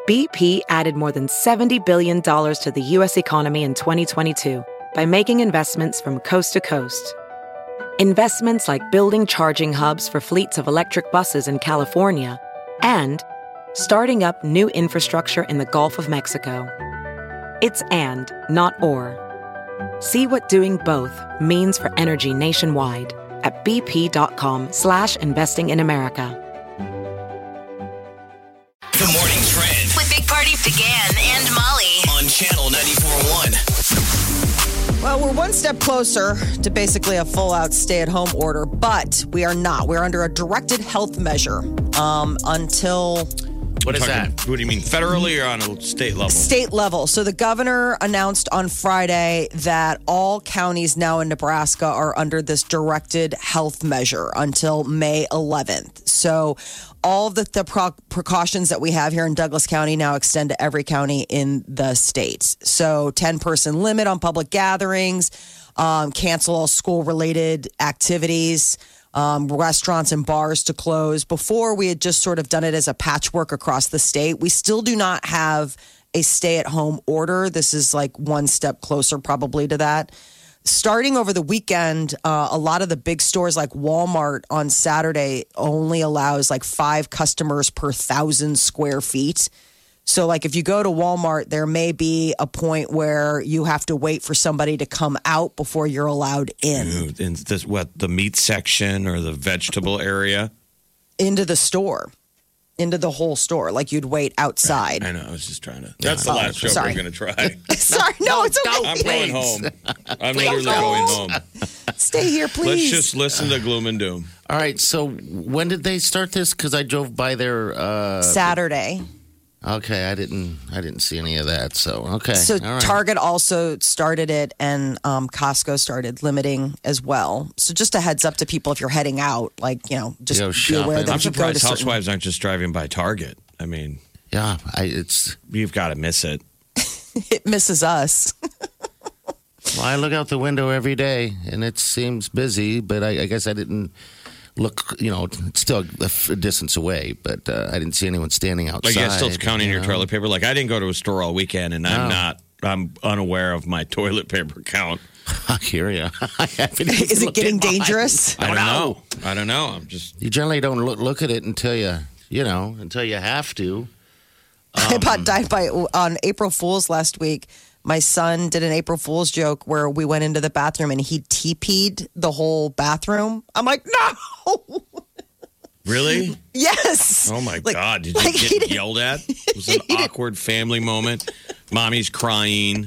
BP added more than $70 billion to the U.S. economy in 2022 by making investments from coast to coast. Investments like building charging hubs for fleets of electric buses in California and starting up new infrastructure in the Gulf of Mexico. It's and, not or. See what doing both means for energy nationwide at bp.com/investing in America. The Morning Trend With Big Party began and Molly. on Channel 94.1. Well, we're one step closer to basically a full-out stay-at-home order, but we are not. We're under a directed health measure until What is that? What do you mean, federally or on a state level? state level. So the governor announced on Friday that all counties now in Nebraska are under this directed health measure until May 11th. So all of the precautions that we have here in Douglas County now extend to every county in the state. So 10-person limit on public gatherings, cancel all school-related activities, restaurants and bars to close. Before, we had just sort of done it as a patchwork across the state. We still do not have a stay-at-home order. This is like one step closer probably to that. Starting over the weekend, a lot of the big stores like Walmart on Saturday only allows like 5 customers per 1,000 square feet. So like if you go to Walmart, there may be a point where you have to wait for somebody to come out before you're allowed in. In this, the meat section or the vegetable area? Into the store. Into the whole store. Like you'd wait outside. I know. I was just trying to. That's the last joke sorry. we're going to try. Sorry, no, it's okay. I'm going home. I'm literally going home. Stay here, Let's please. just listen to gloom and doom. All right. So when did they start this? Because I drove by there. Saturday. Okay, I didn't see any of that. So okay. So All right. Target also started it, and Costco started limiting as well. So just a heads up to people if you're heading out, like just Go be aware shopping. that I'm if you go to surprised certain- housewives aren't just driving by Target. I mean, Yeah, it's. you've got to miss it. it misses us. Well, I look out the window every day, and it seems busy. But I guess I didn't look. It's still a distance away, but I didn't see anyone standing outside. Like, still counting your toilet paper. Like, I didn't go to a store all weekend, and I'm unaware of my toilet paper count. I hear you. Is it getting dangerous? I don't know. I'm just. You generally don't look at it until you have to. I about died on April Fool's last week. My son did an April Fool's joke where we went into the bathroom and he TP'd the whole bathroom. I'm like, no. Really? Yes. Oh, my God. Did you get yelled at? It was an awkward family moment. Mommy's crying.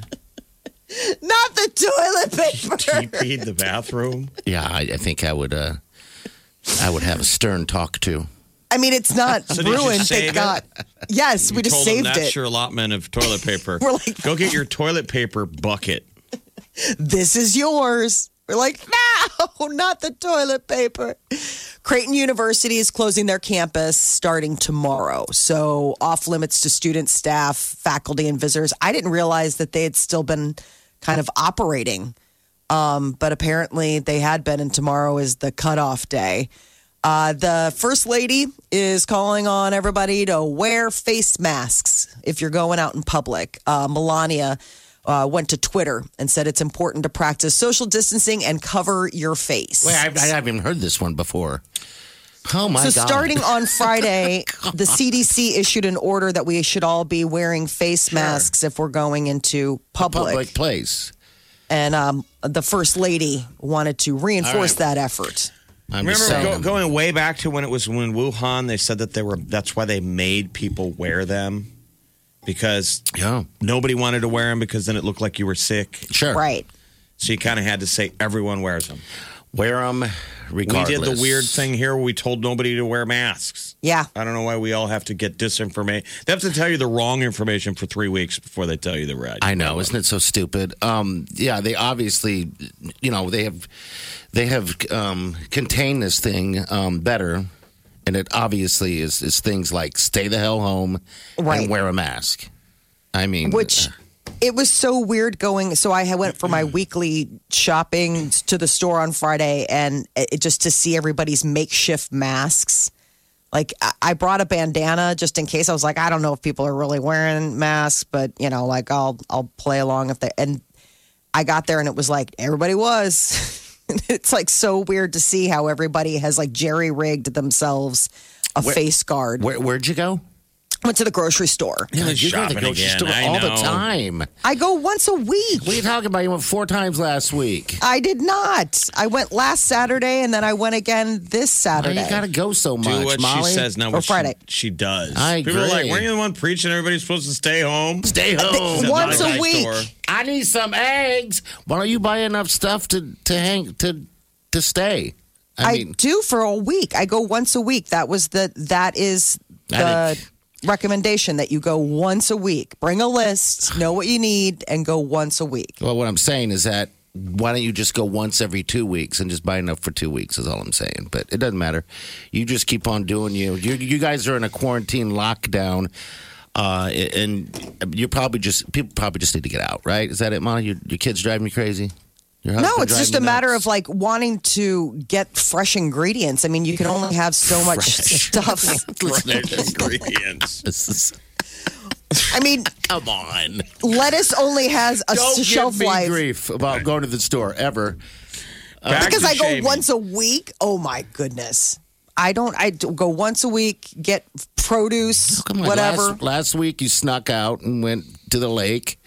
Not the toilet paper. TP'd the bathroom? Yeah, I think I would have a stern talk to. I mean, it's not So did you ruined. save Thank God. Yes, we just told them saved that's it. your allotment of toilet paper. We're like, go get your toilet paper bucket. This is yours. We're like, no, not the toilet paper. Creighton University is closing their campus starting tomorrow. So off limits to students, staff, faculty, and visitors. I didn't realize that they had still been kind of operating. But apparently they had been, and tomorrow is the cutoff day. The First Lady is calling on everybody to wear face masks if you're going out in public. Melania went to Twitter and said it's important to practice social distancing and cover your face. Wait, I haven't even heard this one before. Oh, my God. So starting on Friday, the CDC issued an order that we should all be wearing face masks if we're going into Public place. And the First Lady wanted to reinforce that effort. Remember going way back to when Wuhan, they said that that's why they made people wear them. Because nobody wanted to wear them because then it looked like you were sick. Sure. Right. So you kind of had to say everyone wears them. Wear them regardless. We did the weird thing here where we told nobody to wear masks. Yeah. I don't know why we all have to get disinformation. They have to tell you the wrong information for 3 weeks before they tell you the right. I know. Isn't it so stupid? Yeah, they obviously, they have contained this thing better. And it obviously is things like stay the hell home and wear a mask. I mean, which it was so weird going. So I went for my weekly shopping to the store on Friday and it just to see everybody's makeshift masks. Like, I brought a bandana just in case. I was like, I don't know if people are really wearing masks, but, like, I'll play along if they. And I got there and it was like, everybody was. It's like so weird to see how everybody has like jerry-rigged themselves a face guard. Where'd you go? Went to the grocery store. Yeah, you go to the grocery store all the time. I go once a week. What are you talking about? You went 4 times last week. I did not. I went last Saturday, and then I went again this Saturday. Why you got to go so much, Do what Molly? she says, not Or what Friday. she does. I People are agree. like, weren't you the one preaching everybody's supposed to stay home? Stay home. Once a Nice week. store. I need some eggs. Why don't you buy enough stuff to stay? I do for a week. I go once a week. That is the recommendation, that you go once a week. Bring a list, know what you need, and go once a week. Well, what I'm saying is that why don't you just go once every 2 weeks and just buy enough for 2 weeks is all I'm saying. But it doesn't matter. You just keep on doing you. You guys are in a quarantine lockdown. And people probably just need to get out, right? Is that it, Molly? Your kids driving you crazy? No, it's just a matter of like wanting to get fresh ingredients. I mean, you can only have so much stuff. Ingredients. I mean, come on. Lettuce only has a shelf Don't give me life. grief about going to the store ever. Because I go once a week. Oh my goodness. I go once a week, get produce, whatever. Last week you snuck out and went to the lake.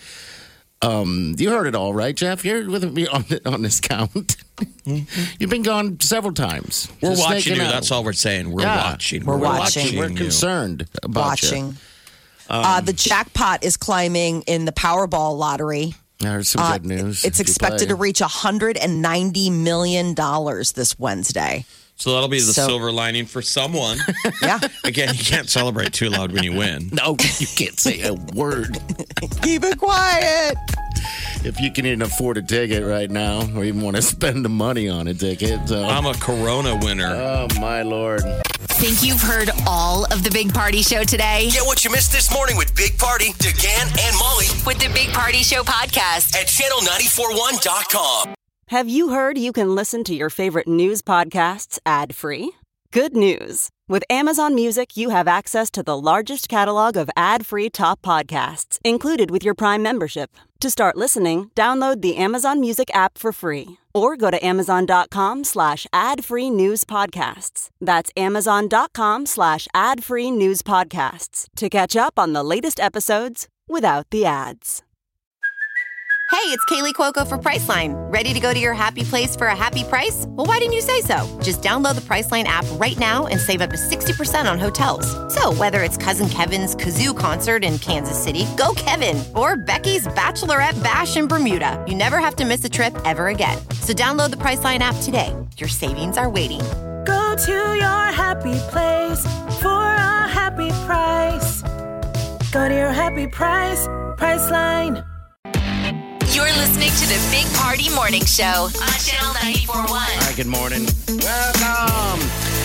You heard it all, right, Jeff? You're with me on this count. You've been gone several times. We're Just watching you. out. That's all we're saying. We're watching. We're watching. We're you. concerned about watching. The jackpot is climbing in the Powerball lottery. There's some good news. It's expected to reach $190 million this Wednesday. So that'll be the silver lining for someone. Yeah. Again, you can't celebrate too loud when you win. No, you can't say a word. Keep it quiet. If you can even afford a ticket right now, or even want to spend the money on a ticket. So. I'm a Corona winner. Oh, my Lord. Think you've heard all of the Big Party Show today? Get what you missed this morning with Big Party, DeGan, and Molly With the Big Party Show podcast. at channel941.com. Have you heard you can listen to your favorite news podcasts ad-free? Good news. With Amazon Music, you have access to the largest catalog of ad-free top podcasts included with your Prime membership. To start listening, download the Amazon Music app for free or go to amazon.com/ad-free news podcasts. That's amazon.com/ad-free news podcasts to catch up on the latest episodes without the ads. Hey, it's Kaylee Cuoco for Priceline. Ready to go to your happy place for a happy price? Well, why didn't you say so? Just download the Priceline app right now and save up to 60% on hotels. So whether it's Cousin Kevin's Kazoo Concert in Kansas City, go Kevin, or Becky's Bachelorette Bash in Bermuda, you never have to miss a trip ever again. So download the Priceline app today. Your savings are waiting. Go to your happy place for a happy price. Go to your happy price, Priceline. You're listening to the Big Party Morning Show on Channel 94.1. All right, good morning. Welcome.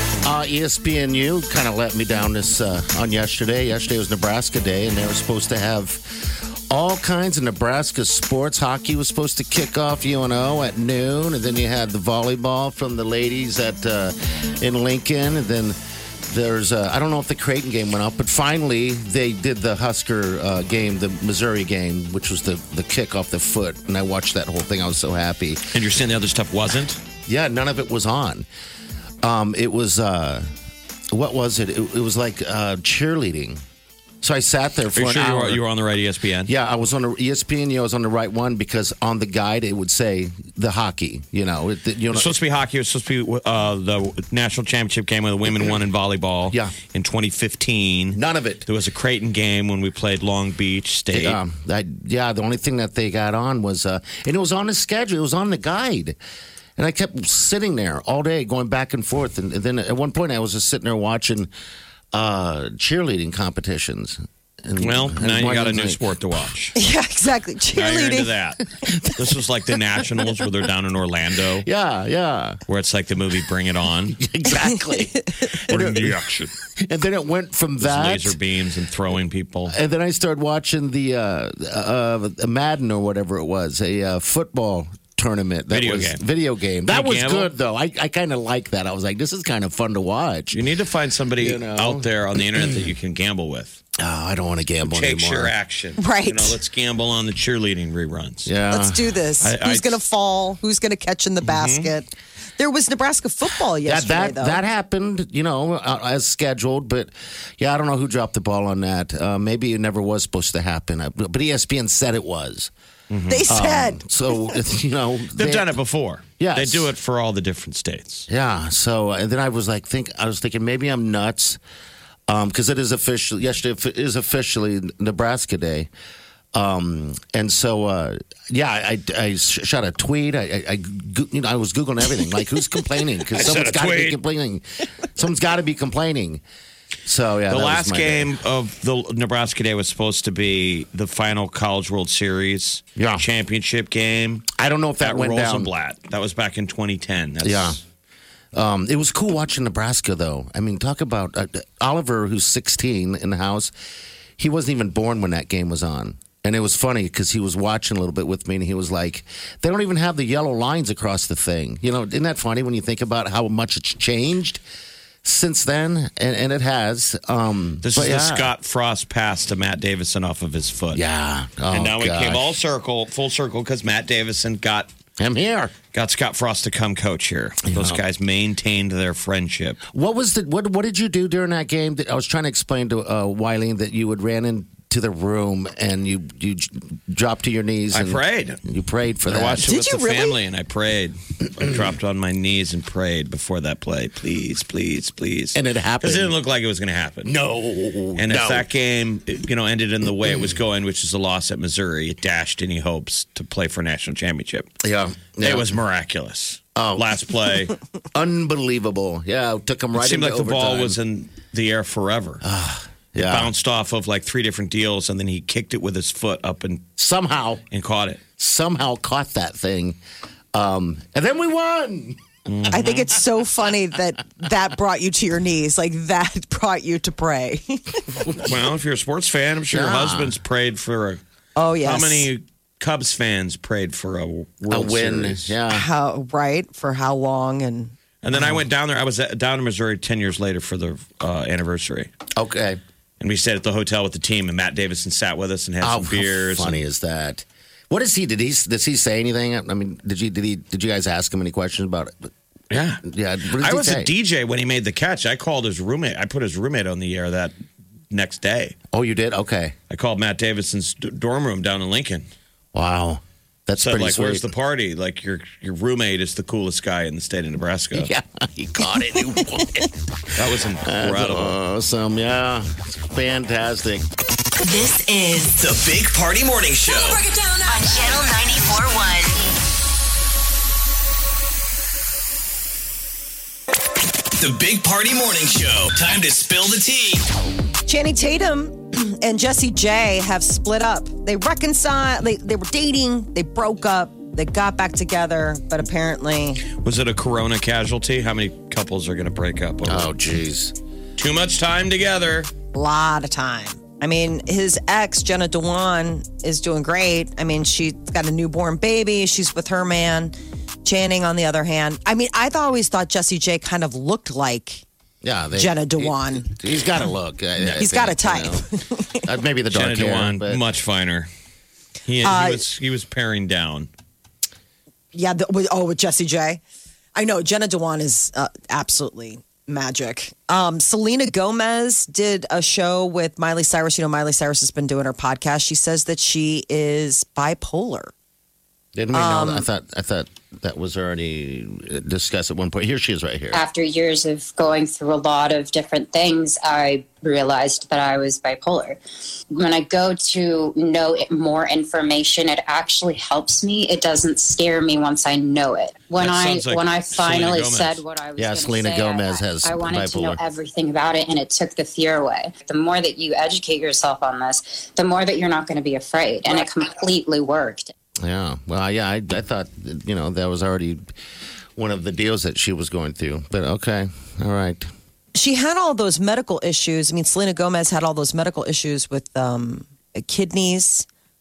ESPNU kind of let me down this on yesterday. Yesterday was Nebraska Day, and they were supposed to have all kinds of Nebraska sports. Hockey was supposed to kick off UNO at noon, and then you had the volleyball from the ladies at in Lincoln, and then there's I don't know if the Creighton game went up, but finally they did the Husker game, the Missouri game, which was the kick off the foot, and I watched that whole thing. I was so happy. And you're saying the other stuff wasn't? Yeah, none of it was on. It was what was it? It was like cheerleading. So I sat there for Are you an sure hour. you were on the right ESPN? Yeah, I was on the ESPN. I was on the right one because on the guide it would say the hockey. It was supposed to be hockey. It was supposed to be the national championship game when the women won in volleyball. Yeah. In 2015. None of it. There was a Creighton game when we played Long Beach State. The only thing that they got on was, and it was on the schedule. It was on the guide. And I kept sitting there all day going back and forth. And then at one point I was just sitting there watching cheerleading competitions. And now you got a new sport to watch. Yeah, exactly. Now you're into Cheerleading. that. This was like the Nationals where they're down in Orlando. Yeah. Where it's like the movie Bring It On. Exactly. Bring the action. And then it went from that. Laser beams and throwing people. And then I started watching the Madden or whatever it was, a football tournament. Video game. That was good, though. I kind of like that. I was like, this is kind of fun to watch. You need to find somebody out there on the internet that you can gamble with. Oh, I don't want to gamble anymore. Takes your action. Right. Let's gamble on the cheerleading reruns. Yeah. Let's do this. Who's going to fall? Who's going to catch in the basket? There was Nebraska football yesterday, though. That happened, as scheduled. But, yeah, I don't know who dropped the ball on that. Maybe it never was supposed to happen. But ESPN said it was. They said. So, They've done it before. Yes. They do it for all the different states. Yeah. So, and then I was thinking maybe I'm nuts. Because it is official. Yesterday is officially Nebraska Day, and so I shot a tweet. I was googling everything, like who's complaining, because someone's got to be complaining. Someone's got to be complaining. So yeah, the last game of the Nebraska Day was supposed to be the final College World Series championship game. I don't know if that went down. Rosenblatt. That was back in 2010. It was cool watching Nebraska, though. I mean, talk about Oliver, who's 16 in the house. He wasn't even born when that game was on. And it was funny because he was watching a little bit with me, and he was like, they don't even have the yellow lines across the thing. Isn't that funny when you think about how much it's changed since then? And it has. This is the Scott Frost pass to Matt Davison off of his foot. Yeah. And now it came full circle, because Matt Davison got Scott Frost to come coach here. Those guys maintained their friendship. What did you do during that game? I was trying to explain to Wileen that you ran into the room and you dropped to your knees. I prayed. You prayed for that. I watched it with the family, and I prayed. I dropped on my knees and prayed before that play. Please, please, please. And it happened. Because it didn't look like it was going to happen. No. And if that game, ended in the way it was going, which is a loss at Missouri, it dashed any hopes to play for a national championship. Yeah. It was miraculous. Oh. Last play. Unbelievable. Yeah, it took them right into overtime. It seemed like the ball was in the air forever. It bounced off of like 3 different deals, and then he kicked it with his foot up and caught it. Somehow caught that thing. And then we won. I think it's so funny that brought you to your knees. Like, that brought you to pray. Well, if you're a sports fan, I'm sure your husband's prayed for Oh, yes. How many Cubs fans prayed for a World win? Series? Yeah. For how long? And then I went down there. I was down in Missouri 10 years later for the anniversary. Okay. And we stayed at the hotel with the team, and Matt Davison sat with us and had some beers. How funny is that? What is he? Does he say anything? I mean, did you guys ask him any questions about it? Yeah. Yeah. I was a DJ when he made the catch. I called his roommate. I put his roommate on the air that next day. Oh, you did? Okay. I called Matt Davidson's dorm room down in Lincoln. Wow. That's pretty sweet. Where's the party? Like, your roommate is the coolest guy in the state of Nebraska. Yeah, he caught it. He won it. That was incredible. Awesome. Yeah. It's fantastic. This is the Big Party Morning Show on Channel 94.1. The Big Party Morning Show. Time to spill the tea. Channing Tatum and Jessie J have split up. They reconciled. They were dating. They broke up. They got back together, but apparently... Was it a corona casualty? How many couples are going to break up? Oh, geez. Too much time together. A lot of time. I mean, his ex, Jenna Dewan, is doing great. I mean, she's got a newborn baby. She's with her man. Channing, on the other hand. I mean, I always thought Jessie J kind of looked like Jenna Dewan. He's got a look. He's got a type. Maybe the dark Jenna hair. Dewan, But much finer. He was paring down. Yeah. With Jessie J. I know Jenna Dewan is absolutely magic. Selena Gomez did a show with Miley Cyrus. Miley Cyrus has been doing her podcast. She says that she is bipolar. Didn't we know that? I thought that was already discussed at one point. Here she is right here. After years of going through a lot of different things, I realized that I was bipolar. When I go to know more information, it actually helps me. It doesn't scare me once I know it. When I finally said what I was going to say, Selena Gomez has I wanted bipolar. to know everything about it, and it took the fear away. The more that you educate yourself on this, the more that you're not going to be afraid, and it completely worked. Yeah. Well, yeah, I thought, that was already one of the deals that she was going through. But okay. All right. She had all those medical issues. I mean, Selena Gomez had all those medical issues with kidneys,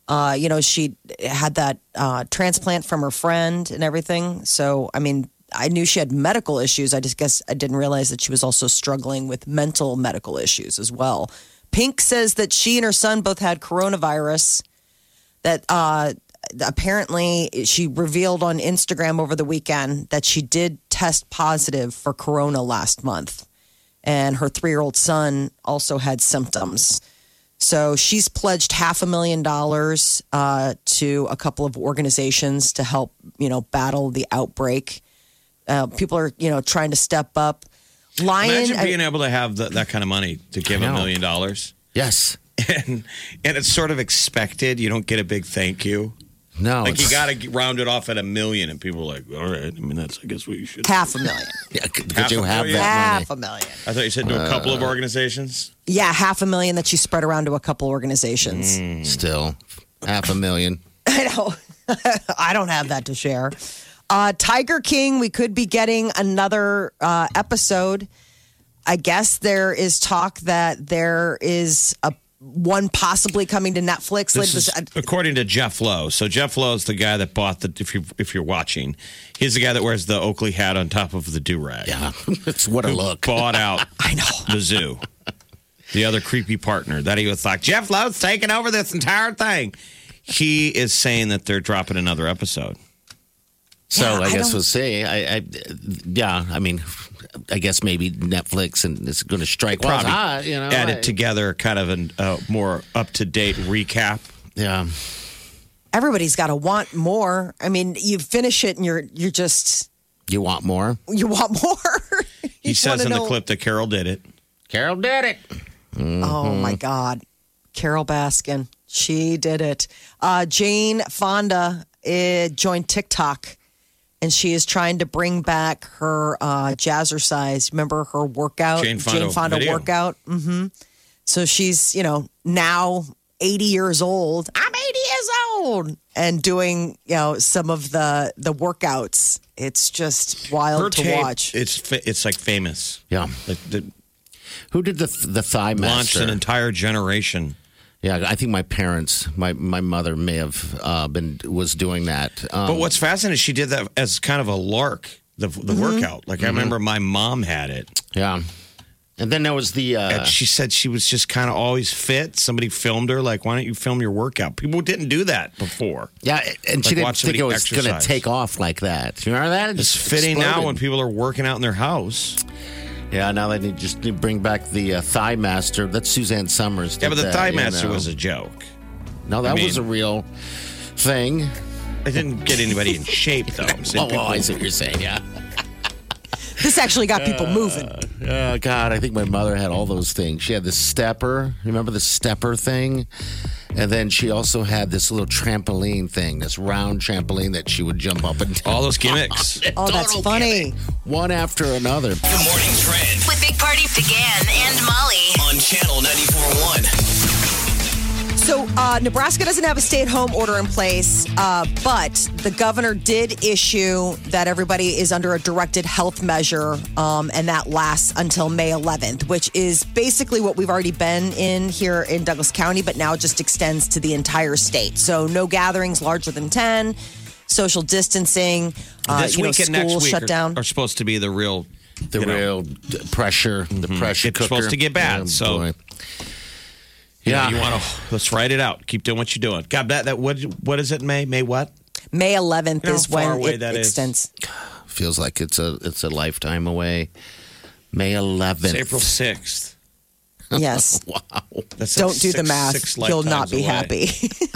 She had that transplant from her friend and everything. So, I mean, I knew she had medical issues. I just guess I didn't realize that she was also struggling with mental medical issues as well. Pink says that she and her son both had coronavirus. That apparently she revealed on Instagram over the weekend that she did test positive for corona last month. And her 3-year-old son also had symptoms. So she's pledged $500,000 to a couple of organizations to help, battle the outbreak. People are, trying to step up. Imagine being able to have that kind of money to give $1 million. Yes. And it's sort of expected. You don't get a big thank you. No. Like you got to round it off at $1 million, and people are like, all right. I mean, that's, I guess what you should. $500,000. Yeah, could you have that money? $500,000. I thought you said to a couple of organizations. Yeah, $500,000 that she spread around to a couple organizations. Still, $500,000. I know. I don't have that to share. Tiger King, we could be getting another episode. I guess there is talk that there is one possibly coming to Netflix. This is according to Jeff Lowe. So Jeff Lowe is the guy that bought if you're watching, he's the guy that wears the Oakley hat on top of the do-rag. Yeah, it's what a look. Bought out I know. the zoo. The other creepy partner that he was like, Jeff Lowe's taking over this entire thing. He is saying that they're dropping another episode. So I guess we'll see. I mean, I guess maybe Netflix and it's going to strike while it's hot, add it together, kind of a more up-to-date recap. Yeah. Everybody's got to want more. I mean, you finish it and you're just... You want more? You want more. He says in the clip that Carol did it. Carol did it. Mm-hmm. Oh, my God. Carol Baskin. She did it. Jane Fonda joined TikTok. And she is trying to bring back her jazzercise. Remember her workout? Jane Fonda workout. Mm-hmm. So she's, now 80 years old. I'm 80 years old. And doing, some of the workouts. It's just wild her to tape, watch. It's like famous. Yeah. Who did the Thigh Master? Launched an entire generation. Yeah, I think my parents, my mother may have was doing that. But what's fascinating is she did that as kind of a lark, the workout. Like I remember my mom had it. Yeah. And then there was the... and she said she was just kind of always fit. Somebody filmed her, like, why don't you film your workout? People didn't do that before. Yeah, and she didn't think it was going to take off like that. You remember that? It's fitting now when people are working out in their house. Yeah, now they need to bring back the Thigh Master. That's Suzanne Summers. Yeah, but the Thigh Master was a joke. No, that was a real thing. It didn't get anybody in shape, though. I see what you're saying, yeah. This actually got people moving. Oh, God, I think my mother had all those things. She had the stepper. Remember the stepper thing? And then she also had this little trampoline thing, this round trampoline that she would jump up and down. All those gimmicks. Oh, that's funny. One after another. Good morning, Trend. With Big Party began and Molly. On Channel 94.1. So Nebraska doesn't have a stay-at-home order in place, but the governor did issue that everybody is under a directed health measure, and that lasts until May 11th, which is basically what we've already been in here in Douglas County, but now it just extends to the entire state. So no gatherings larger than 10, social distancing, this week and next week shut down. Are supposed to be the real... real pressure, the pressure cooker. It's supposed to get bad, boy. Yeah, you want to let's write it out. Keep doing what you're doing. God, that what is it? May what? May 11th is when it extends. Feels like it's a lifetime away. May 11th. It's April 6th. Yes. Wow. Don't do the math. You'll not be happy.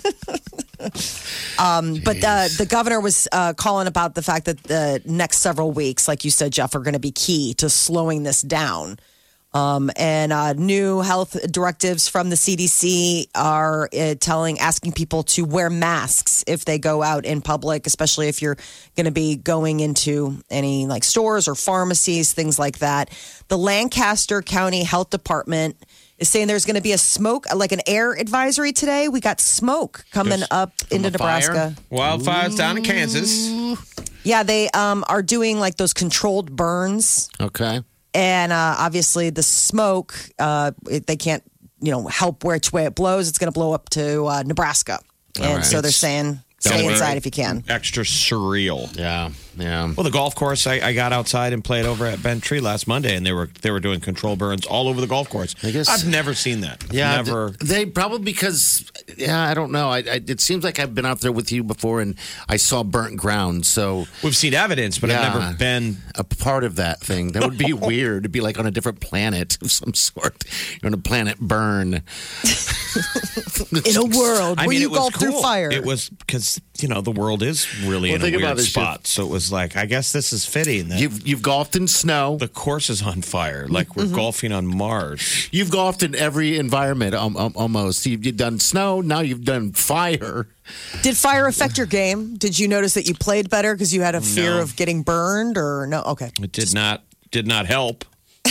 But the governor was calling about the fact that the next several weeks, like you said, Jeff, are going to be key to slowing this down. And new health directives from the CDC are asking people to wear masks if they go out in public, especially if you're going to be going into any like stores or pharmacies, things like that. The Lancaster County Health Department is saying there's going to be like an air advisory today. We got smoke coming up into Nebraska. Wildfires down in Kansas. Yeah, they are doing like those controlled burns. Okay. And obviously the smoke, they can't, help which way it blows. It's going to blow up to Nebraska. And so they're saying stay inside if you can. Extra surreal. Yeah. Well, the golf course, I got outside and played over at Bent Tree last Monday, and they were doing control burns all over the golf course. I guess I've never seen that. Never. They probably because I don't know. It seems like I've been out there with you before, and I saw burnt ground. So we've seen evidence, but I've never been a part of that thing. That would be weird. It'd be like on a different planet of some sort. You're on a planet burn in a world where you golf through fire. It was because the world is really in a weird spot. So it was like, I guess this is fitting. That you've golfed in snow. The course is on fire. Like we're golfing on Mars. You've golfed in every environment almost. You've done snow. Now you've done fire. Did fire affect your game? Did you notice that you played better because you had a fear of getting burned or no? Okay. It did not help.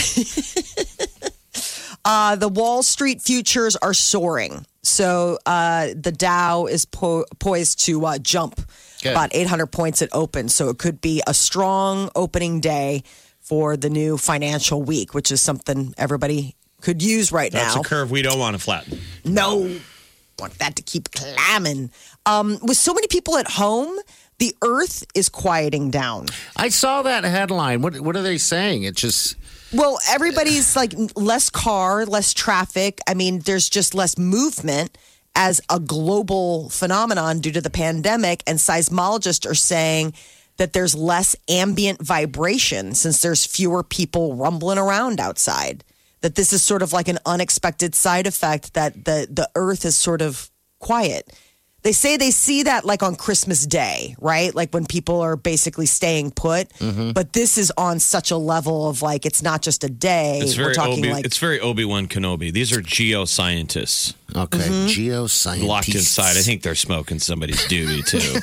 The Wall Street futures are soaring. So the Dow is poised to jump about 800 points at open. So it could be a strong opening day for the new financial week, which is something everybody could use right now. That's a curve we don't want to flatten. No. Want that to keep climbing. With so many people at home, the earth is quieting down. I saw that headline. What are they saying? It's just... Well, everybody's like less car, less traffic. I mean, there's just less movement as a global phenomenon due to the pandemic. And seismologists are saying that there's less ambient vibration since there's fewer people rumbling around outside. That this is sort of like an unexpected side effect that the earth is sort of quiet. They say they see that like on Christmas Day, right? Like when people are basically staying put. Mm-hmm. But this is on such a level of like, it's not just a day. It's very it's very Obi-Wan Kenobi. These are geoscientists. Okay, geoscientists. Locked inside. I think they're smoking somebody's doobie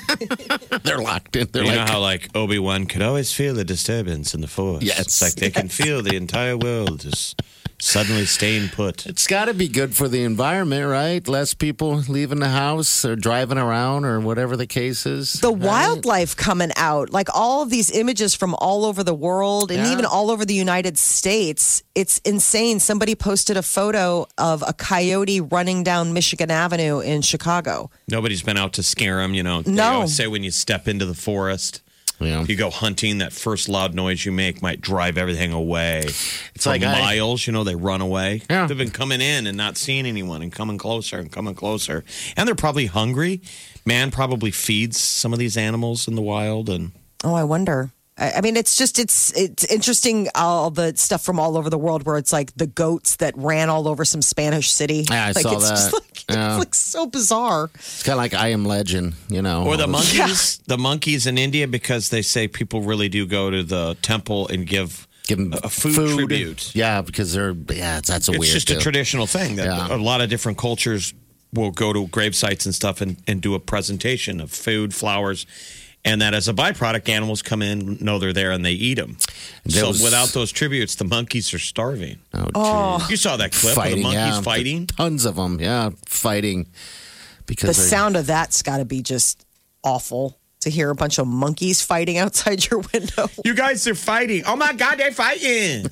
too. They're locked in. You know how like Obi-Wan could always feel the disturbance in the force? Yes. It's like they can feel the entire world just suddenly staying put. It's got to be good for the environment, right? Less people leaving the house or driving around or whatever the case is. The wildlife coming out, like all of these images from all over the world and even all over the United States. It's insane. Somebody posted a photo of a coyote running down Michigan Avenue in Chicago. Nobody's been out to scare them, No. They always say when you step into the forest, you go hunting, that first loud noise you make might drive everything away. It's for like miles, they run away. Yeah. They've been coming in and not seeing anyone and coming closer and coming closer. And they're probably hungry. Man probably feeds some of these animals in the wild. And I wonder. I mean, it's interesting, all the stuff from all over the world where it's like the goats that ran all over some Spanish city. Yeah, I saw that. Just like, it's like so bizarre. It's kind of like I Am Legend, Or the monkeys. The monkeys in India, because they say people really do go to the temple and give them a food tribute. Yeah, because that's weird. It's just a traditional thing that a lot of different cultures will go to grave sites and stuff and do a presentation of food, flowers. And that as a byproduct, animals come in, know they're there, and they eat them. So without those tributes, the monkeys are starving. Oh, you saw that clip of the monkeys fighting? Tons of them, fighting. Because the sound of that's got to be just awful to hear a bunch of monkeys fighting outside your window. You guys are fighting. Oh, my God, they're fighting.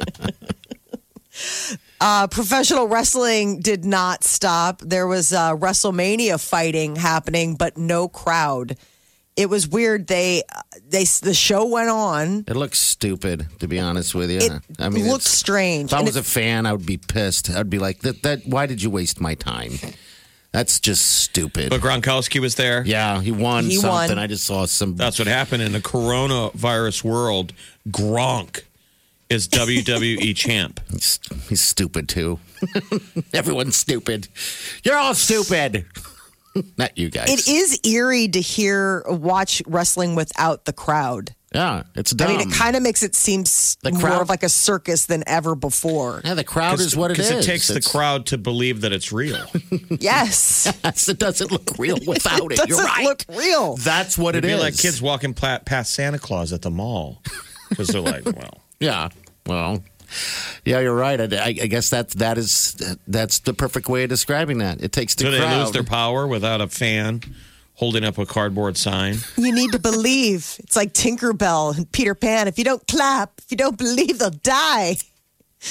Professional wrestling did not stop. There was WrestleMania fighting happening, but no crowd. It was weird. The show went on. It looks stupid, to be honest with you. It looked strange. If I was a fan, I would be pissed. I'd be like, "That why did you waste my time? That's just stupid." But Gronkowski was there. Yeah, he won something. I just saw some. That's what happened in the coronavirus world. Gronk is WWE champ. He's stupid too. Everyone's stupid. You're all stupid. Not you guys. It is eerie to watch wrestling without the crowd. Yeah, it's dumb. I mean, it kind of makes it seem more of like a circus than ever before. Yeah, the crowd is what it is. Because it takes the crowd to believe that it's real. Yes. Yes, it doesn't look real without it. You're right. It doesn't look real. That's what it is. It'd be like kids walking past Santa Claus at the mall. Because they're like, well. Yeah, well. Yeah, you're right. I guess that's the perfect way of describing that. It takes the crowd. So they lose their power without a fan holding up a cardboard sign. You need to believe. It's like Tinkerbell and Peter Pan. If you don't clap, if you don't believe, they'll die.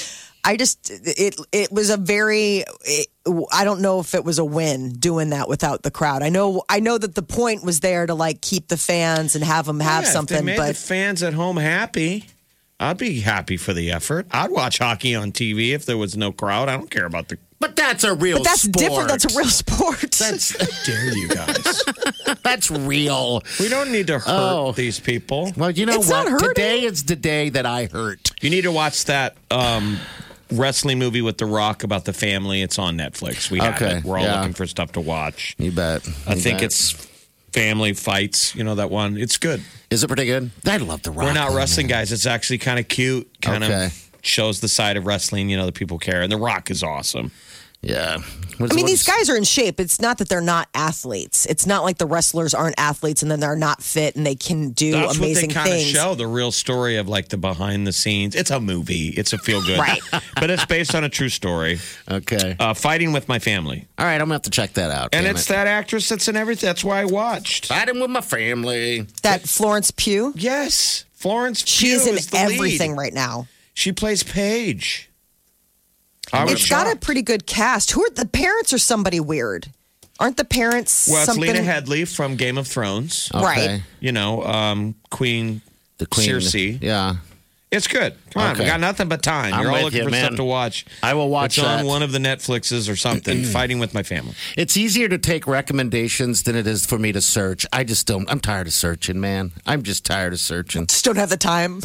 it was a I don't know if it was a win doing that without the crowd. I know that the point was there to like keep the fans and have them have something. If they made the fans at home happy, I'd be happy for the effort. I'd watch hockey on TV if there was no crowd. I don't care about the. But that's a real. But that's sport. different. That's a real sport. That's How dare you guys? That's real. We don't need to hurt these people. Well, you know It's not what? hurting. Today is the day that I hurt. You need to watch that wrestling movie with The Rock about the family. It's on Netflix. We have it. We're all looking for stuff to watch. You bet. I think it's Family Fights. You know that one? It's good. Is it pretty good? I love The Rock. We're not wrestling guys. It's actually kind of cute. Kind of shows the side of wrestling, you know, that people care. And The Rock is awesome. Yeah. These guys are in shape. It's not that they're not athletes. It's not like the wrestlers aren't athletes and then they're not fit and they can do That's amazing what they kind things. of show, the real story of like the behind the scenes. It's a movie. It's a feel good. Right. But it's based on a true story. Okay. Fighting with My Family. All right, I'm going to have to check that out. And it's that actress that's in everything. That's why I watched. Fighting with My Family. That Florence Pugh? Yes. Florence Pugh She's in is the everything lead. right now. She plays Paige. It's got a pretty good cast. Who are the parents? Or somebody weird? Aren't the parents? Well, it's something? Lena Headey from Game of Thrones. Okay. Right. You know, Queen Cersei. Yeah. It's good. Come on, we got nothing but time. I'm You're all with looking you, for man. stuff to watch. I will watch It's that. on one of the Netflixes or something. Fighting with My Family. It's easier to take recommendations than it is for me to search. I just don't. I'm tired of searching, man. I'm just tired of searching. Just don't have the time.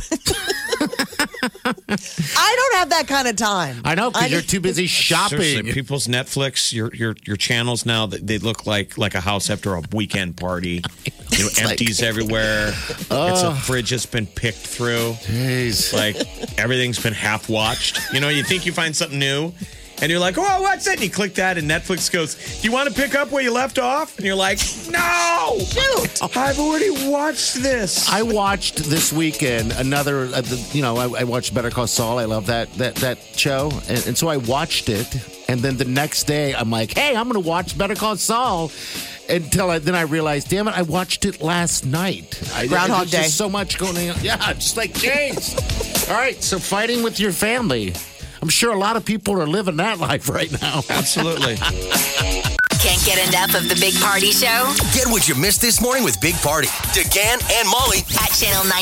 I don't have that kind of time. I know, because you're too busy shopping. Seriously, people's Netflix, your channels now, they look like a house after a weekend party. You know, empties everywhere. It's a fridge that's been picked through. Jeez. Like everything's been half watched. You know, you think you find something new, and you're like, "Oh, what's that?" And you click that, and Netflix goes, "Do you want to pick up where you left off?" And you're like, "No, shoot! I've already watched this." I watched this weekend another. I watched Better Call Saul. I love that show, and so I watched it. And then the next day, I'm like, "Hey, I'm going to watch Better Call Saul." Then I realized, damn it, I watched it last night. Groundhog There's Day. just so much going on. Yeah, just like James. All right, so fighting with your family. I'm sure a lot of people are living that life right now. Absolutely. Can't get enough of the Big Party Show Get what you missed this morning with Big Party, DeGan and Molly at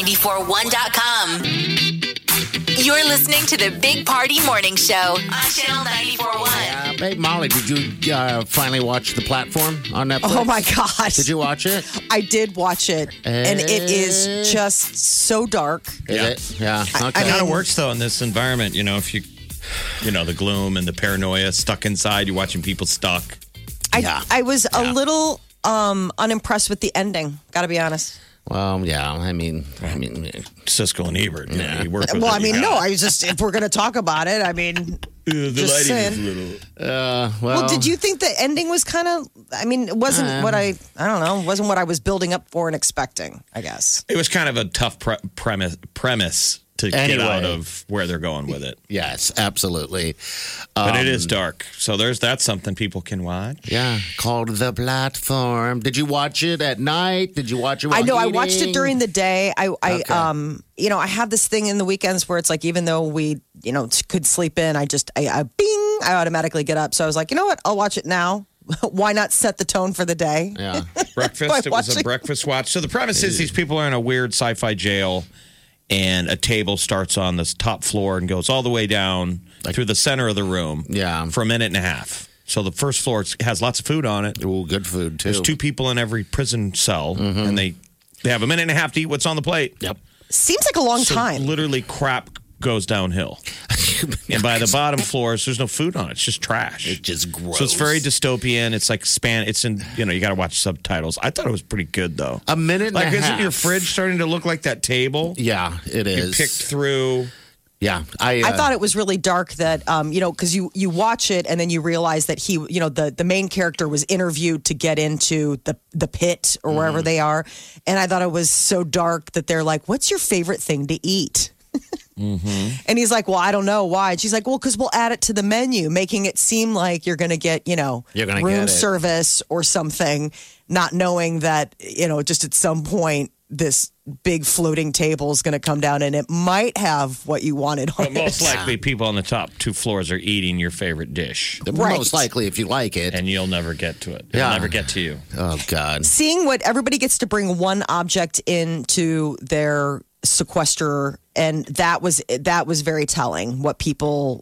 channel941.com. You're listening to the Big Party Morning Show on Channel 94.1. Hey, Molly, did you finally watch The Platform on Netflix? Oh my gosh! Did you watch it? I did watch it, and it is just so dark. Is it? Yeah. Okay. It kind of works though in this environment. You know, if you know, the gloom and the paranoia, stuck inside, you're watching people stuck. I was a little unimpressed with the ending. Got to be honest. Well, yeah. I mean, Siskel and Ebert. You know, you work with Well, it, I mean, you no. got I was just if we're going to talk about it, I mean, the just lighting saying. is a little. Well, did you think the ending was kind of? I mean, it wasn't what I don't know. Wasn't what I was building up for and expecting. I guess. It was kind of a tough premise to get out of where they're going with it. Yes, absolutely. But it is dark. So that's something people can watch. Yeah, called The Platform. Did you watch it at night? Did you watch it while I know. I eating? watched it during the day. I I have this thing in the weekends where it's like, even though we, could sleep in, I automatically get up. So I was like, you know what? I'll watch it now. Why not set the tone for the day? Yeah. Breakfast. It was a breakfast watch. So the premise is these people are in a weird sci-fi jail, and a table starts on this top floor and goes all the way down through the center of the room for a minute and a half. So the first floor has lots of food on it. Ooh, good food, too. There's 2 people in every prison cell, and they have a minute and a half to eat what's on the plate. Yep. Seems like a long time. Literally, crap goes downhill. And by the bottom floors, there's no food on it. It's just trash. It's just gross. So it's very dystopian. It's like It's in, you got to watch subtitles. I thought it was pretty good, though. A minute and a half. Isn't your fridge starting to look like that table? Yeah, it is. You picked through. Yeah. I thought it was really dark that, because you watch it and then you realize that he, the main character was interviewed to get into the pit or wherever they are. And I thought it was so dark that they're like, what's your favorite thing to eat? And he's like, well, I don't know why. And she's like, well, because we'll add it to the menu, making it seem like you're going to get, room service or something, not knowing that, just at some point this big floating table is going to come down and it might have what you wanted on But most likely, people on the top 2 floors are eating your favorite dish. Right. Most likely, if you like it. And you'll never get to it. It'll never get to you. Oh, God. Seeing what everybody gets to bring one object into their sequester, and that was very telling. What people,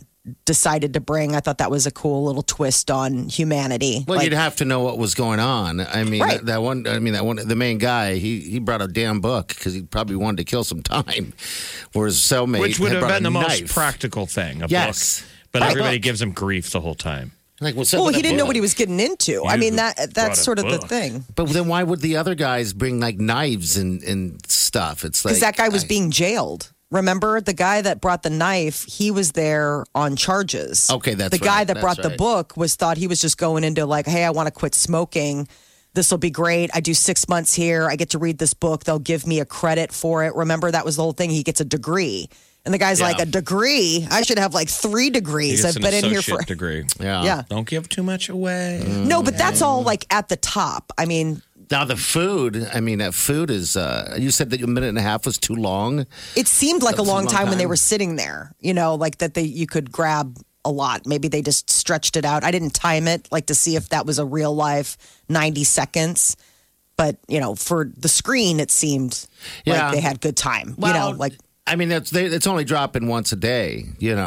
decided to bring. I thought that was a cool little twist on humanity. Well, you'd have to know what was going on. I mean, Right. that one. The main guy. He brought a damn book because he probably wanted to kill some time. Whereas cellmate, Which would had have brought been a the knife. most practical thing, a Yes. book. But Right. everybody Book. gives him grief the whole time. Like, what's well, up with he a didn't know book? what he was getting into. I mean, that's brought a sort of the book. thing. But then why would the other guys bring like knives and stuff? It's like Because that guy was being jailed. Remember, the guy that brought the knife, he was there on charges. Okay, that's the guy right. that That's brought the right. book thought he was just going into like, hey, I want to quit smoking. This will be great. I do 6 months here. I get to read this book. They'll give me a credit for it. Remember, that was the whole thing. He gets a degree. And the guy's like, a degree? I should have like 3 degrees. I've been in here for degree. Yeah. Don't give too much away. No, but that's all like at the top. I mean, now the food. I mean, that food is. You said that a minute and a half was too long. it seemed like a That was a long long time when they time. were sitting there, like that you could grab a lot. Maybe they just stretched it out. I didn't time it like to see if that was a real life 90 seconds. But, for the screen, it seemed Yeah. like they had good time. Well, like I mean, it's only dropping once a day.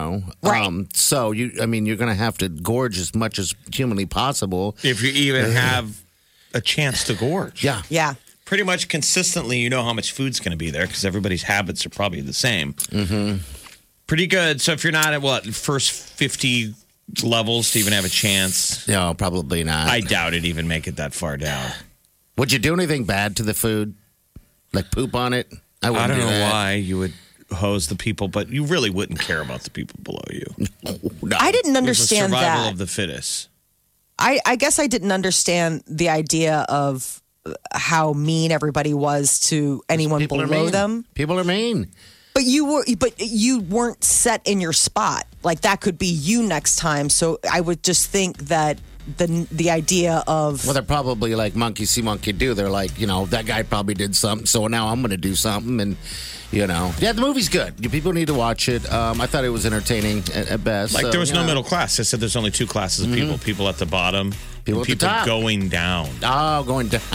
Right. So you're going to have to gorge as much as humanly possible. If you even have a chance to gorge. Yeah. Pretty much consistently, you know how much food's going to be there because everybody's habits are probably the same. Mm-hmm. Pretty good. So if you're not at first 50 levels to even have a chance, No, probably not. I doubt it even make it that far down. Would you do anything bad to the food? Like poop on it? I wouldn't don't do know that. why you would hose the people, but you really wouldn't care about the people below you. No. I didn't It was understand the survival that. of the fittest. I guess I didn't understand the idea of how mean everybody was to anyone People are below mean. them. People are mean. But you weren't set in your spot. Like that could be you next time. So I would just think that the idea of Well, they're probably like monkey see, monkey do. They're like, that guy probably did something, so now I'm going to do something. And, yeah, the movie's good. People need to watch it. I thought it was entertaining at best. Like So, there was no yeah. middle class. They said there's only 2 classes of people: people at the bottom, People and at the top. going down. Oh, going down.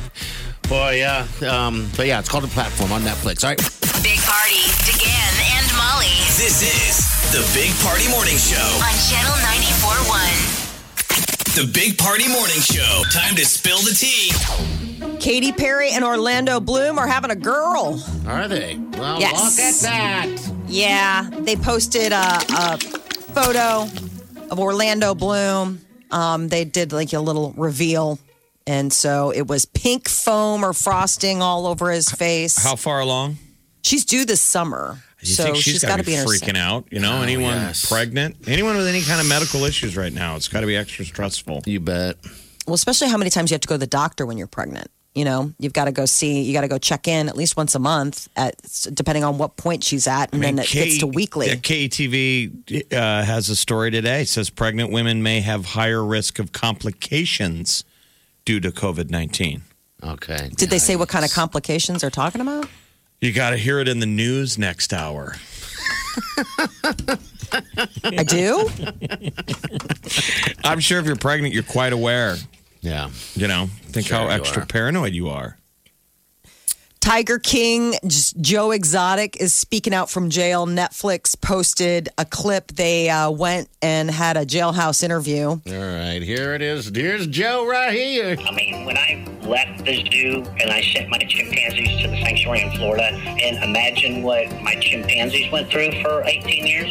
Boy, yeah. But yeah, it's called The Platform on Netflix. All right. Big Party, DeGan and Molly This is the Big Party Morning Show. on Channel 94.1. The Big Party Morning Show. Time to spill the tea. Katy Perry and Orlando Bloom are having a girl. Are they? Well, Yes. look at that. Yeah, they posted a photo of Orlando Bloom. They did like a little reveal. And so it was pink foam or frosting all over his face. How far along? She's due this summer. You so think she's got to be be in her freaking out? Anyone yes. pregnant? Anyone with any kind of medical issues right now? It's got to be extra stressful. You bet. Well, especially how many times you have to go to the doctor when you're pregnant. You've got to go check in at least once a month, depending on what point she's at, and then it gets to weekly. KETV has a story today. It says pregnant women may have higher risk of complications due to COVID-19. Okay. Did they say what kind of complications they're talking about? You got to hear it in the news next hour. I do? I'm sure if you're pregnant, you're quite aware. Yeah. Think Sure how you extra are. paranoid you are. Tiger King, Joe Exotic is speaking out from jail. Netflix posted a clip. They went and had a jailhouse interview. All right. Here it is. Here's Joe right here. I mean, when I left the zoo and I sent my chimpanzees to the sanctuary in Florida, and imagine what my chimpanzees went through for 18 years,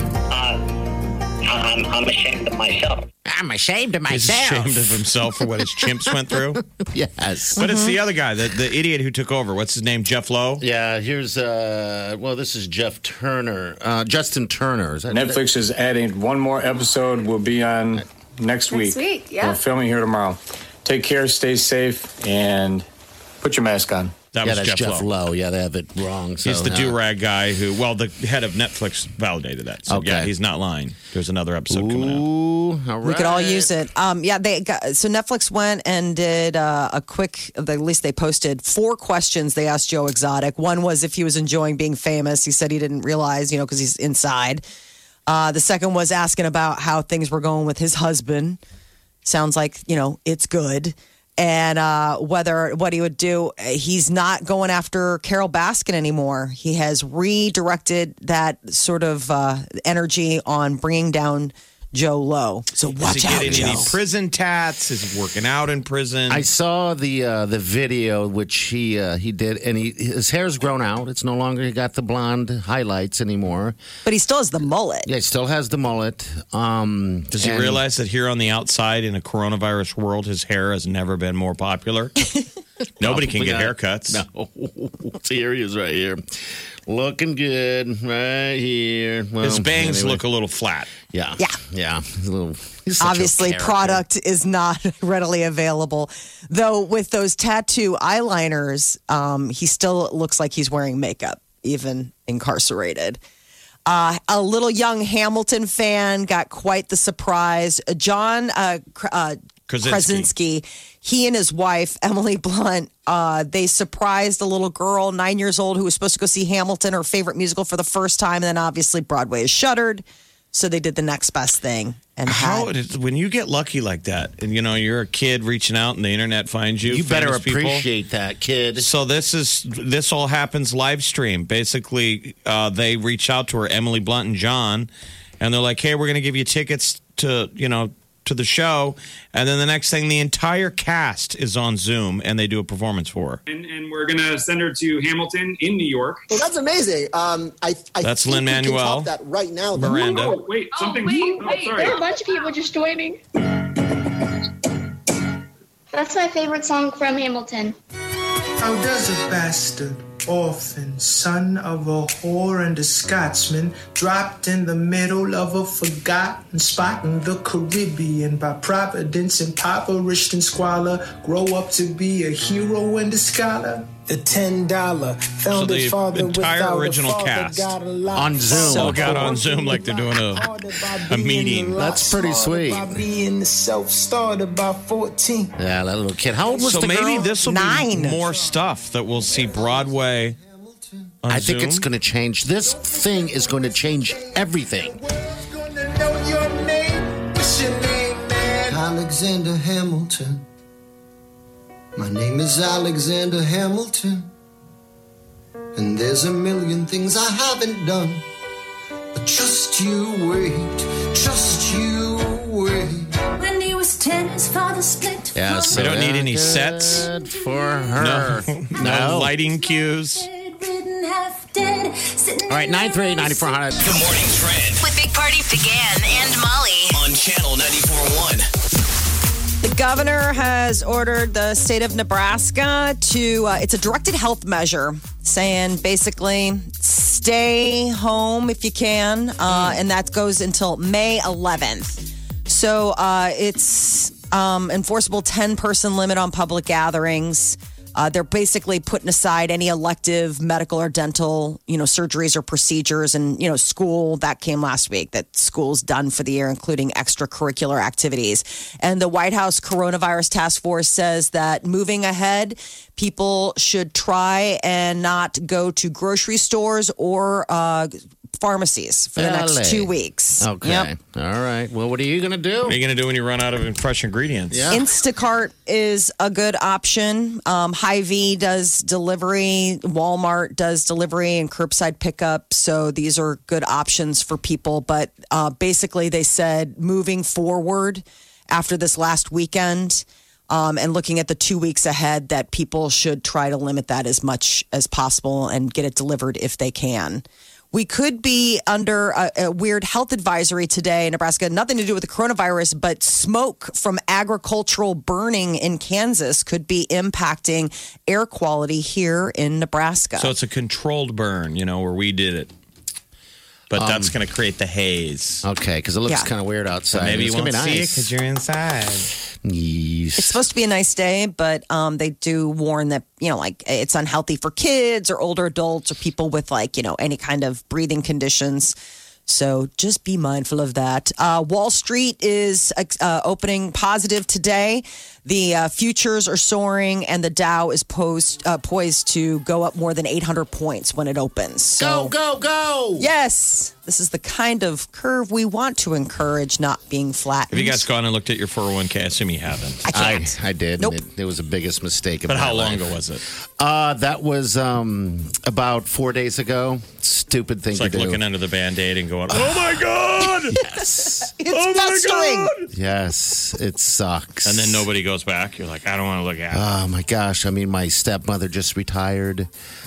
I'm ashamed of myself. I'm ashamed of He's myself. ashamed of himself for what his chimps went through. Yes. But it's the other guy, the idiot who took over. What's his name? Jeff Lowe? Yeah, here's, this is Jeff Turner. Justin Turner. Is that Netflix is adding one more episode. Will be on next week. week, yeah. We're filming here tomorrow. Take care, stay safe, and put your mask on. That was that's Jeff Lowe. Yeah, they have it wrong. So, He's the do-rag guy who, the head of Netflix validated that. So, yeah, he's not lying. There's another episode coming out. All right. We could all use it. So Netflix went and did a quick, at least they posted 4 questions they asked Joe Exotic. One was if he was enjoying being famous. He said he didn't realize, because he's inside. The second was asking about how things were going with his husband. Sounds like, it's good. And what he would do. He's not going after Carol Baskin anymore. He has redirected that sort of energy on bringing down Joe Lowe. So watch out, Joe. Is he getting any prison tats? Is he working out in prison? I saw the video which he did, and his hair's grown out. It's no longer he got the blonde highlights anymore. But he still has the mullet. Yeah, he still has the mullet. Does he realize that here on the outside in a coronavirus world, his hair has never been more popular? Nobody can get haircuts. No. See, here he is right here. Looking good right here. Well, his bangs look a little flat. Yeah. He's obviously, product is not readily available. Though with those tattoo eyeliners, he still looks like he's wearing makeup, even incarcerated. A little young Hamilton fan got quite the surprise. John Krasinski, he and his wife, Emily Blunt, they surprised a little girl, 9 years old, who was supposed to go see Hamilton, her favorite musical, for the first time. And then obviously Broadway is shuttered. So they did the next best thing. And when you get lucky like that, and you're a kid reaching out and the internet finds you, you better appreciate that, kid. So this all happens live stream. Basically, they reach out to her, Emily Blunt and John, and they're like, "Hey, we're going to give you tickets to the show," and then the next thing, the entire cast is on Zoom and they do a performance for her. And we're gonna send her to Hamilton in New York. Well, that's amazing. That's Lin-Manuel. That right now, Miranda. Oh, wait, something. Wait, sorry. there are a bunch of people just joining. That's my favorite song from Hamilton. How does a bastard, orphan, son of a whore and a Scotsman, dropped in the middle of a forgotten spot in the Caribbean by providence, impoverished and squalor, grow up to be a hero and a scholar? The $10 found so a father entire original cast on Zoom. Got on Zoom like they're doing a meeting. That's pretty sweet. Being the self-started by 14. Yeah, that little kid. How old was the girl? So maybe this will 9. be more stuff that we'll see Broadway on I Zoom. think it's going to change. This thing is going to change everything. Alexander Hamilton. My name is Alexander Hamilton, and there's a million things I haven't done. But just you wait, When he was 10, his father split. Yeah, so they don't need any sets for her. No lighting cues. All right, 938-9400. Good morning, Trend With Big Party began and Molly. on Channel 94.1. The governor has ordered the state of Nebraska to, it's a directed health measure saying basically stay home if you can. And that goes until May 11th. So it's enforceable 10-person limit on public gatherings. They're basically putting aside any elective medical or dental, surgeries or procedures. And, school, that came last week, that school's done for the year, including extracurricular activities. And the White House Coronavirus Task Force says that moving ahead, people should try and not go to grocery stores or pharmacies for the next 2 weeks. Okay. Yep. All right. Well, what are you going to do? What are you going to do when you run out of fresh ingredients? Yeah. Instacart is a good option. Hy-Vee does delivery. Walmart does delivery and curbside pickup. So these are good options for people. But basically, they said moving forward after this last weekend and looking at the 2 weeks ahead, that people should try to limit that as much as possible and get it delivered if they can. We could be under a weird health advisory today in Nebraska. Nothing to do with the coronavirus, but smoke from agricultural burning in Kansas could be impacting air quality here in Nebraska. So it's a controlled burn, where we did it. But that's going to create the haze. Okay, because it looks kind of weird outside. So maybe you won't see it nice. because you're inside. Yes. It's supposed to be a nice day, but they do warn that, like it's unhealthy for kids or older adults or people with any kind of breathing conditions. So just be mindful of that. Wall Street is opening positive today. The futures are soaring, and the Dow is poised to go up more than 800 points when it opens. So, go! Yes, this is the kind of curve we want to encourage, not being flattened. Have you guys gone and looked at your 401k? I assume you haven't. I can't. I did. Nope. It was the biggest mistake of But my how long life. ago was it? That was about 4 days ago. Stupid thing It's to like do. looking under the Band-Aid and going, oh my God! Yes. It's festering. Yes, it sucks. And then nobody goes back. You're like, I don't want to look at it. Oh my gosh! I mean, my stepmother just retired.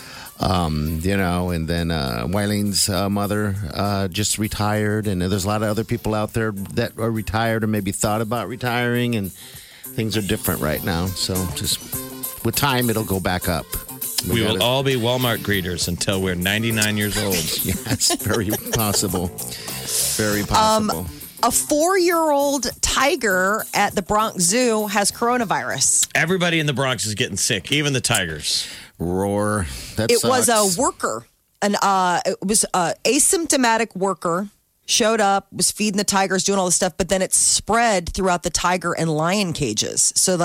And then Wylene's mother just retired, and there's a lot of other people out there that are retired or maybe thought about retiring, and things are different right now. So just with time, it'll go back up. We will all be Walmart greeters until we're 99 years old. Yes, very possible. Very possible. A 4-year-old tiger at the Bronx Zoo has coronavirus. Everybody in the Bronx is getting sick, even the tigers. Roar. That It sucks. was a worker, it was an asymptomatic worker. Showed up, was feeding the tigers, doing all this stuff, but then it spread throughout the tiger and lion cages. So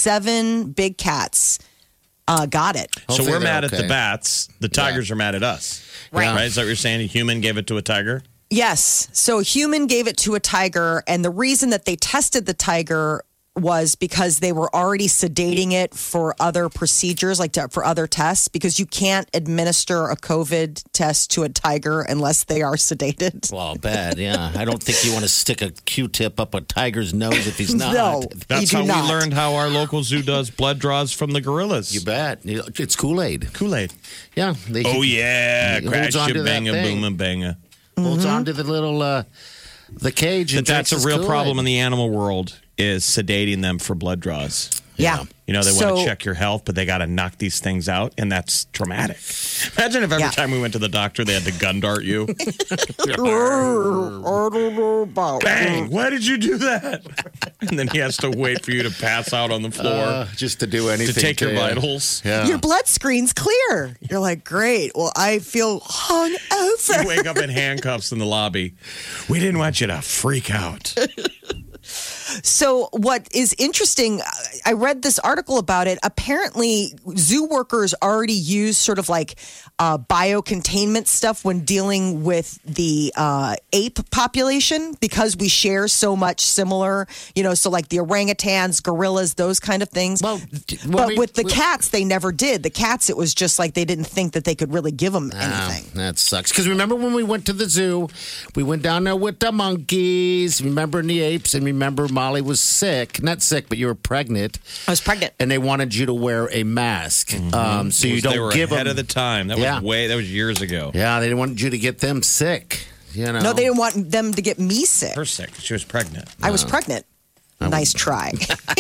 7 big cats got it. So Hopefully we're they're mad at okay. the bats. The tigers are mad at us. Right. Is that what you're saying? A human gave it to a tiger? Yes. So a human gave it to a tiger, and the reason that they tested the tiger was because they were already sedating it for other procedures, for other tests, because you can't administer a COVID test to a tiger unless they are sedated. Well, bad, yeah. I don't think you want to stick a Q-tip up a tiger's nose if he's not. No. That's You how do not. we learned how our local zoo does blood draws from the gorillas. You bet. It's Kool-Aid. Kool-Aid. Yeah. Oh, yeah. It holds Crash onto your that banga, thing. boom, and banga. Holds on to the little the cage. But And that's a drinks real his problem in Kool-Aid. the animal world is sedating them for blood draws. Yeah. They want So- to check your health, but they got to knock these things out, and that's traumatic. Imagine if every Yeah. time we went to the doctor, they had to gun dart you. I don't know about Bang! Why did you do that? And then he has to wait for you to pass out on the floor just to do anything. to take your you. vitals. Yeah. Your blood screen's clear. You're like, great. Well, I feel hung over. You wake up in handcuffs in the lobby. We didn't want you to freak out. So what is interesting, I read this article about it. Apparently, zoo workers already use sort of biocontainment stuff when dealing with the ape population because we share so much similar, so like the orangutans, gorillas, those kind of things. Well, but with the cats, they never did. The cats, it was just like they didn't think that they could really give them anything. That sucks. Because remember when we went to the zoo, we went down there with the monkeys, remember, and the apes, and remember Molly was sick. Not sick, but you were pregnant. I was pregnant. And they wanted you to wear a mask. So you They don't were give ahead them. of the time. That was years ago. Yeah, they didn't want you to get them sick. No, they didn't want them to get me sick. Her sick. She was pregnant. I was pregnant. Nice try.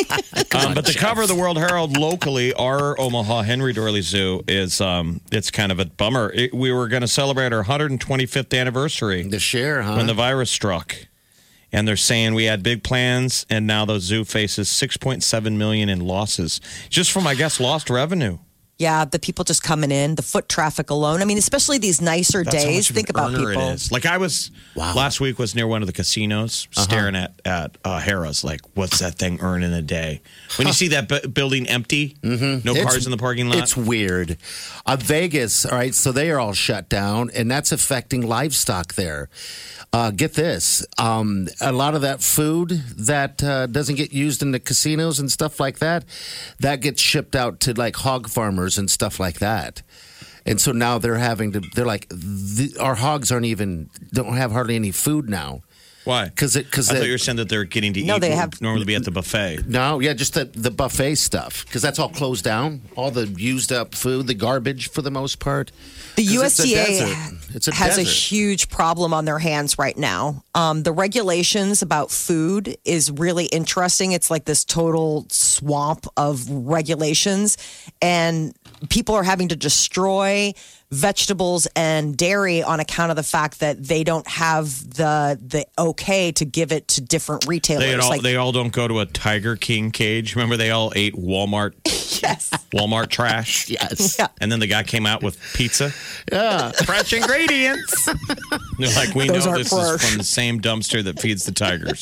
But the cover of the World Herald locally, our Omaha Henry Doorly Zoo is it's kind of a bummer. We were going to celebrate our 125th anniversary this year, huh? when the virus struck. And they're saying we had big plans, and now the zoo faces $6.7 million in losses just from, I guess, lost revenue. Yeah, the people just coming in, the foot traffic alone. I mean, especially these nicer That's how days. much of Think an about earner people. it is. Like I was last week was near one of the casinos staring at Harrah's. Like, what's that thing earn in a day? When you see that building empty, no cars in the parking lot. It's weird. Vegas, all right, so they are all shut down, and that's affecting livestock there. Get this. A lot of that food that doesn't get used in the casinos and stuff like that, that gets shipped out to like hog farmers and stuff like that. And so now they're like, our hogs don't have hardly any food now. Why? Because I thought you were saying that they're getting to eat. they what have- would normally be at the buffet. No, yeah, just the buffet stuff. Because that's all closed down. All the used up food, the garbage for the most part. The 'Cause USDA has a huge problem on their hands right now. The regulations about food is really interesting. It's like this total swamp of regulations, and people are having to destroy vegetables and dairy on account of the fact that they don't have the okay to give it to different retailers. They all don't go to a Tiger King cage. Remember, they all ate Walmart. Yes. Walmart trash. Yes. Yeah. And then the guy came out with pizza. Yeah. Fresh ingredients. They're like, we Those know aren't this is fresh. from the same dumpster that feeds the tigers.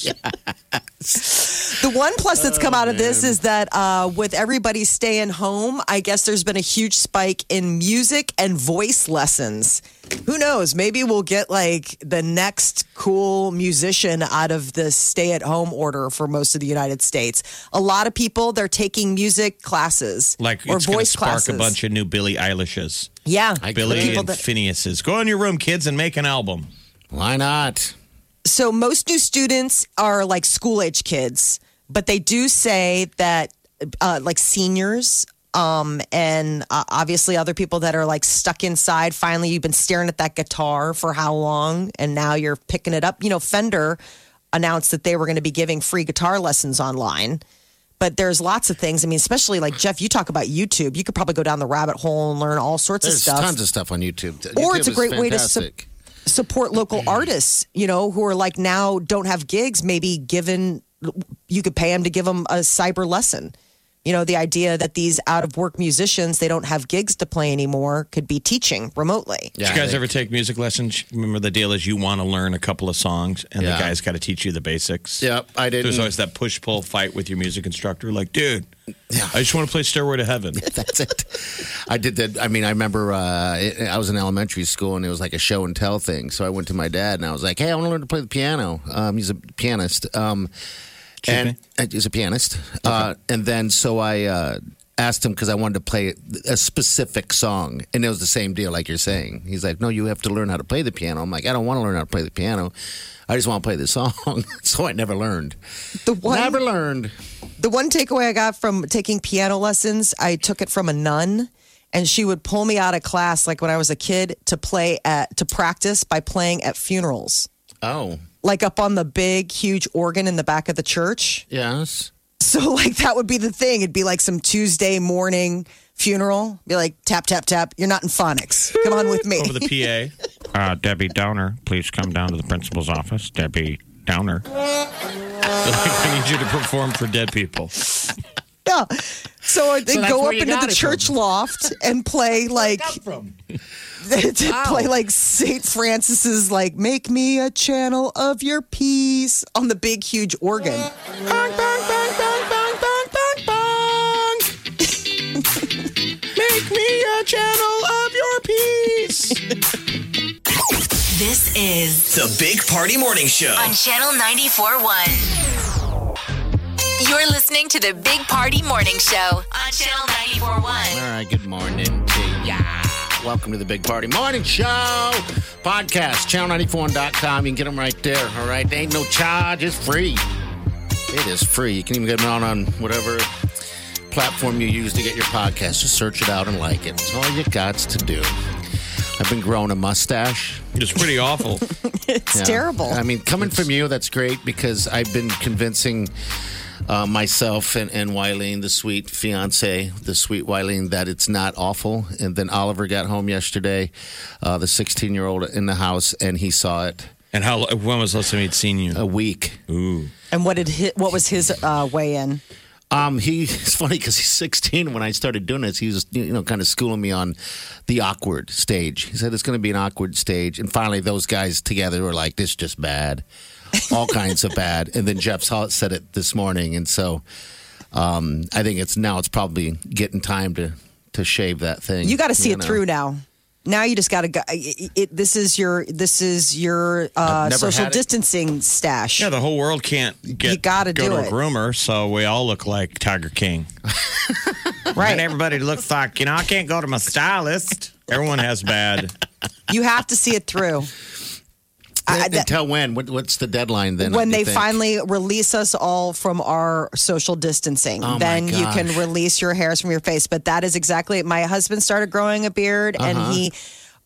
The one plus that's come out of this is that with everybody staying home, I guess there's been a huge spike in music and voice lessons. Who knows? Maybe we'll get like the next cool musician out of this stay-at-home order for most of the United States. A lot of people, they're taking music classes Like or it's going to voice spark classes. a bunch of new Billie Eilishes. Yeah. Billie People and that- Phineas's. Go in your room, kids, and make an album. Why not? So most new students are like school-age kids, but they do say that like seniors and obviously other people that are like stuck inside. Finally, you've been staring at that guitar for how long, and now you're picking it up. You know, Fender announced that they were going to be giving free guitar lessons online. But there's lots of things. I mean, especially like Jeff, you talk about YouTube. You could probably go down the rabbit hole and learn all sorts There's of stuff. tons of stuff on YouTube. Or YouTube it's a is great way to fantastic. support local artists, you know, who are like now don't have gigs. Maybe you could pay them to give them a cyber lesson. You know, the idea that these out of work musicians, they don't have gigs to play anymore, could be teaching remotely. Did you guys ever take music lessons? Remember, the deal is you want to learn a couple of songs, and the guy's got to teach you the basics. Yep, I did. There's always that push-pull fight with your music instructor. Like, dude, I just want to play Stairway to Heaven. That's it. I did that. I mean, I remember I was in elementary school, and it was like a show and tell thing. So I went to my dad, and I was like, hey, I want to learn to play the piano. He's a pianist. And he's a pianist. And then so I asked him because I wanted to play a specific song. And it was the same deal like you're saying. He's like, no, you have to learn how to play the piano. I'm like, I don't want to learn how to play the piano. I just want to play the song. So I never learned. Never learned. The one takeaway I got from taking piano lessons, I took it from a nun. And she would pull me out of class like when I was a kid to practice by playing at funerals. Oh. Like up on the big, huge organ in the back of the church. Yes. So, like, that would be the thing. It'd be like some Tuesday morning funeral. Be like, tap, tap, tap. You're not in phonics. Come on with me. Over the PA. Debbie Downer, please come down to the principal's office. Debbie Downer. I need you to perform for dead people. Yeah. So they that's go where up you into got the it church from. loft and play like play like St. Francis's like "Make Me a Channel of Your Peace" on the big huge organ. Bang, bang, bang, bang, bang, bang, bang, bang. Make me a channel of your peace. This is The Big Party Morning Show. on Channel 94.1. You're listening to the Big Party Morning Show on Channel 94.1. All right, good morning to ya. Welcome to the Big Party Morning Show podcast, channel94.com. You can get them right there, all right? There ain't no charge. It's free. It is free. You can even get them on whatever platform you use to get your podcast. Just search it out and like it. It's all you got to do. I've been growing a mustache. It's pretty awful. It's terrible. I mean, coming from you, that's great because I've been convincing myself and Wileen, the sweet fiance, the sweet Wileen, that it's not awful. And then Oliver got home yesterday, the 16-year-old in the house, and he saw it. And when was the last time he'd seen you? A week. Ooh. And what was his weigh in? It's funny because he's 16. When I started doing this, he was, kind of schooling me on the awkward stage. He said it's going to be an awkward stage. And finally, those guys together were like, this is just bad. All kinds of bad. And then Jeff said it this morning. And so I think it's probably getting time to shave that thing. You got to see it through now. Now you just got to go. This is your social distancing stash. Yeah, the whole world can't go to a groomer, so we all look like Tiger King. Right. And everybody looks like, I can't go to my stylist. Everyone has bad. You have to see it through. Until when? What's the deadline then? When they finally release us all from our social distancing, then you can release your hairs from your face. But that is exactly it. My husband started growing a beard, and he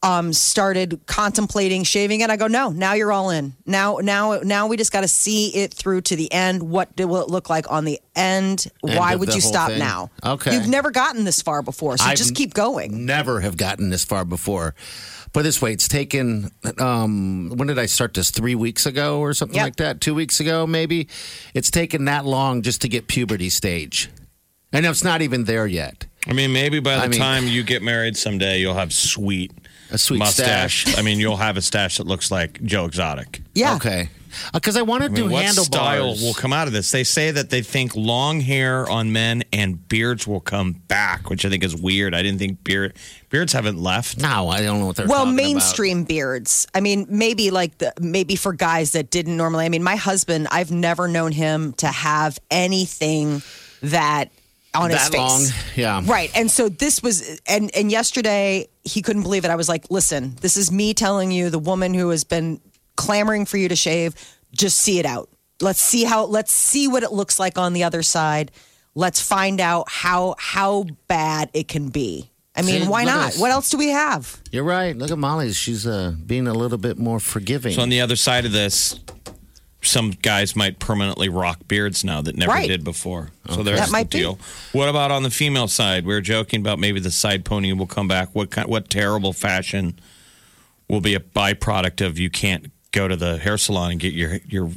started contemplating shaving it. I go, no, now you're all in. Now we just got to see it through to the end. What will it look like on the end? Why would you stop now? Okay. You've never gotten this far before, so just keep going. Never have gotten this far before. But this way, it's taken, when did I start this? 3 weeks ago or something like that? 2 weeks ago, maybe? It's taken that long just to get puberty stage. And it's not even there yet. I mean, maybe by the time you get married someday, you'll have a sweet mustache. stash. I mean, you'll have a stash that looks like Joe Exotic. Yeah. Okay. Because I want to do what handlebars. style will come out of this? They say that they think long hair on men and beards will come back, which I think is weird. I didn't think beards haven't left. No, I don't know what they're talking about. Well, mainstream beards. I mean, maybe for guys that didn't normally. I mean, my husband, I've never known him to have anything that on his face. That long, yeah. Right. And so this was, and yesterday he couldn't believe it. I was like, listen, this is me telling you, the woman who has been clamoring for you to shave, just see it out. Let's see what it looks like on the other side. Let's find out how bad it can be. I mean, why not? What else do we have? You're right. Look at Molly. She's being a little bit more forgiving. So on the other side of this, some guys might permanently rock beards now that never did before. So there's the deal. What about on the female side? We were joking about maybe the side pony will come back. What terrible fashion will be a byproduct of you can't go to the hair salon and get your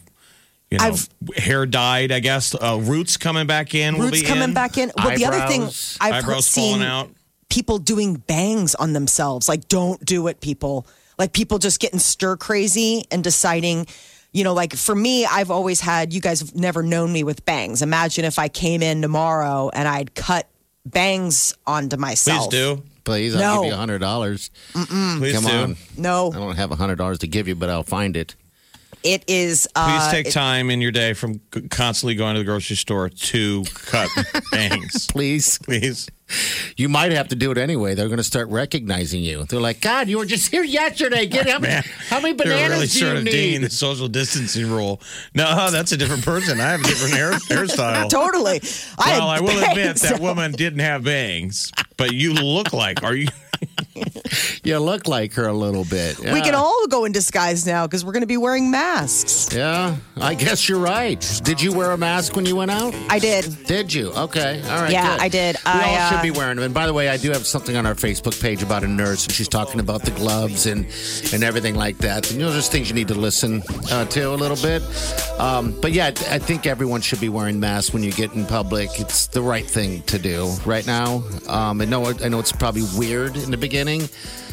hair dyed, I guess. Roots coming back in. Roots coming back in. Well, the other thing I've seen falling out. People doing bangs on themselves. Like, don't do it, people. Like, people just getting stir crazy and deciding, like for me, I've always had, you guys have never known me with bangs. Imagine if I came in tomorrow and I'd cut bangs onto myself. Please do. Please, I'll give you $100. Please Come do. on. No. I don't have $100 to give you, but I'll find it. It is. Please take time in your day from constantly going to the grocery store to cut bangs. Please. You might have to do it anyway. They're going to start recognizing you. They're like, God, you were just here yesterday. How many bananas They're really do sort you of need? digging the social distancing rule. No, that's a different person. I have a different hairstyle. Totally. I will admit that woman didn't have bangs, but you look like. Are you? You look like her a little bit. Yeah. We can all go in disguise now because we're going to be wearing masks. Yeah, I guess you're right. Did you wear a mask when you went out? I did. Did you? Okay. All right. Yeah, good. I did. We all should be wearing them. And by the way, I do have something on our Facebook page about a nurse, and she's talking about the gloves and everything like that. And, there's things you need to listen to a little bit. But yeah, I think everyone should be wearing masks when you get in public. It's the right thing to do right now. I know it's probably weird in the beginning.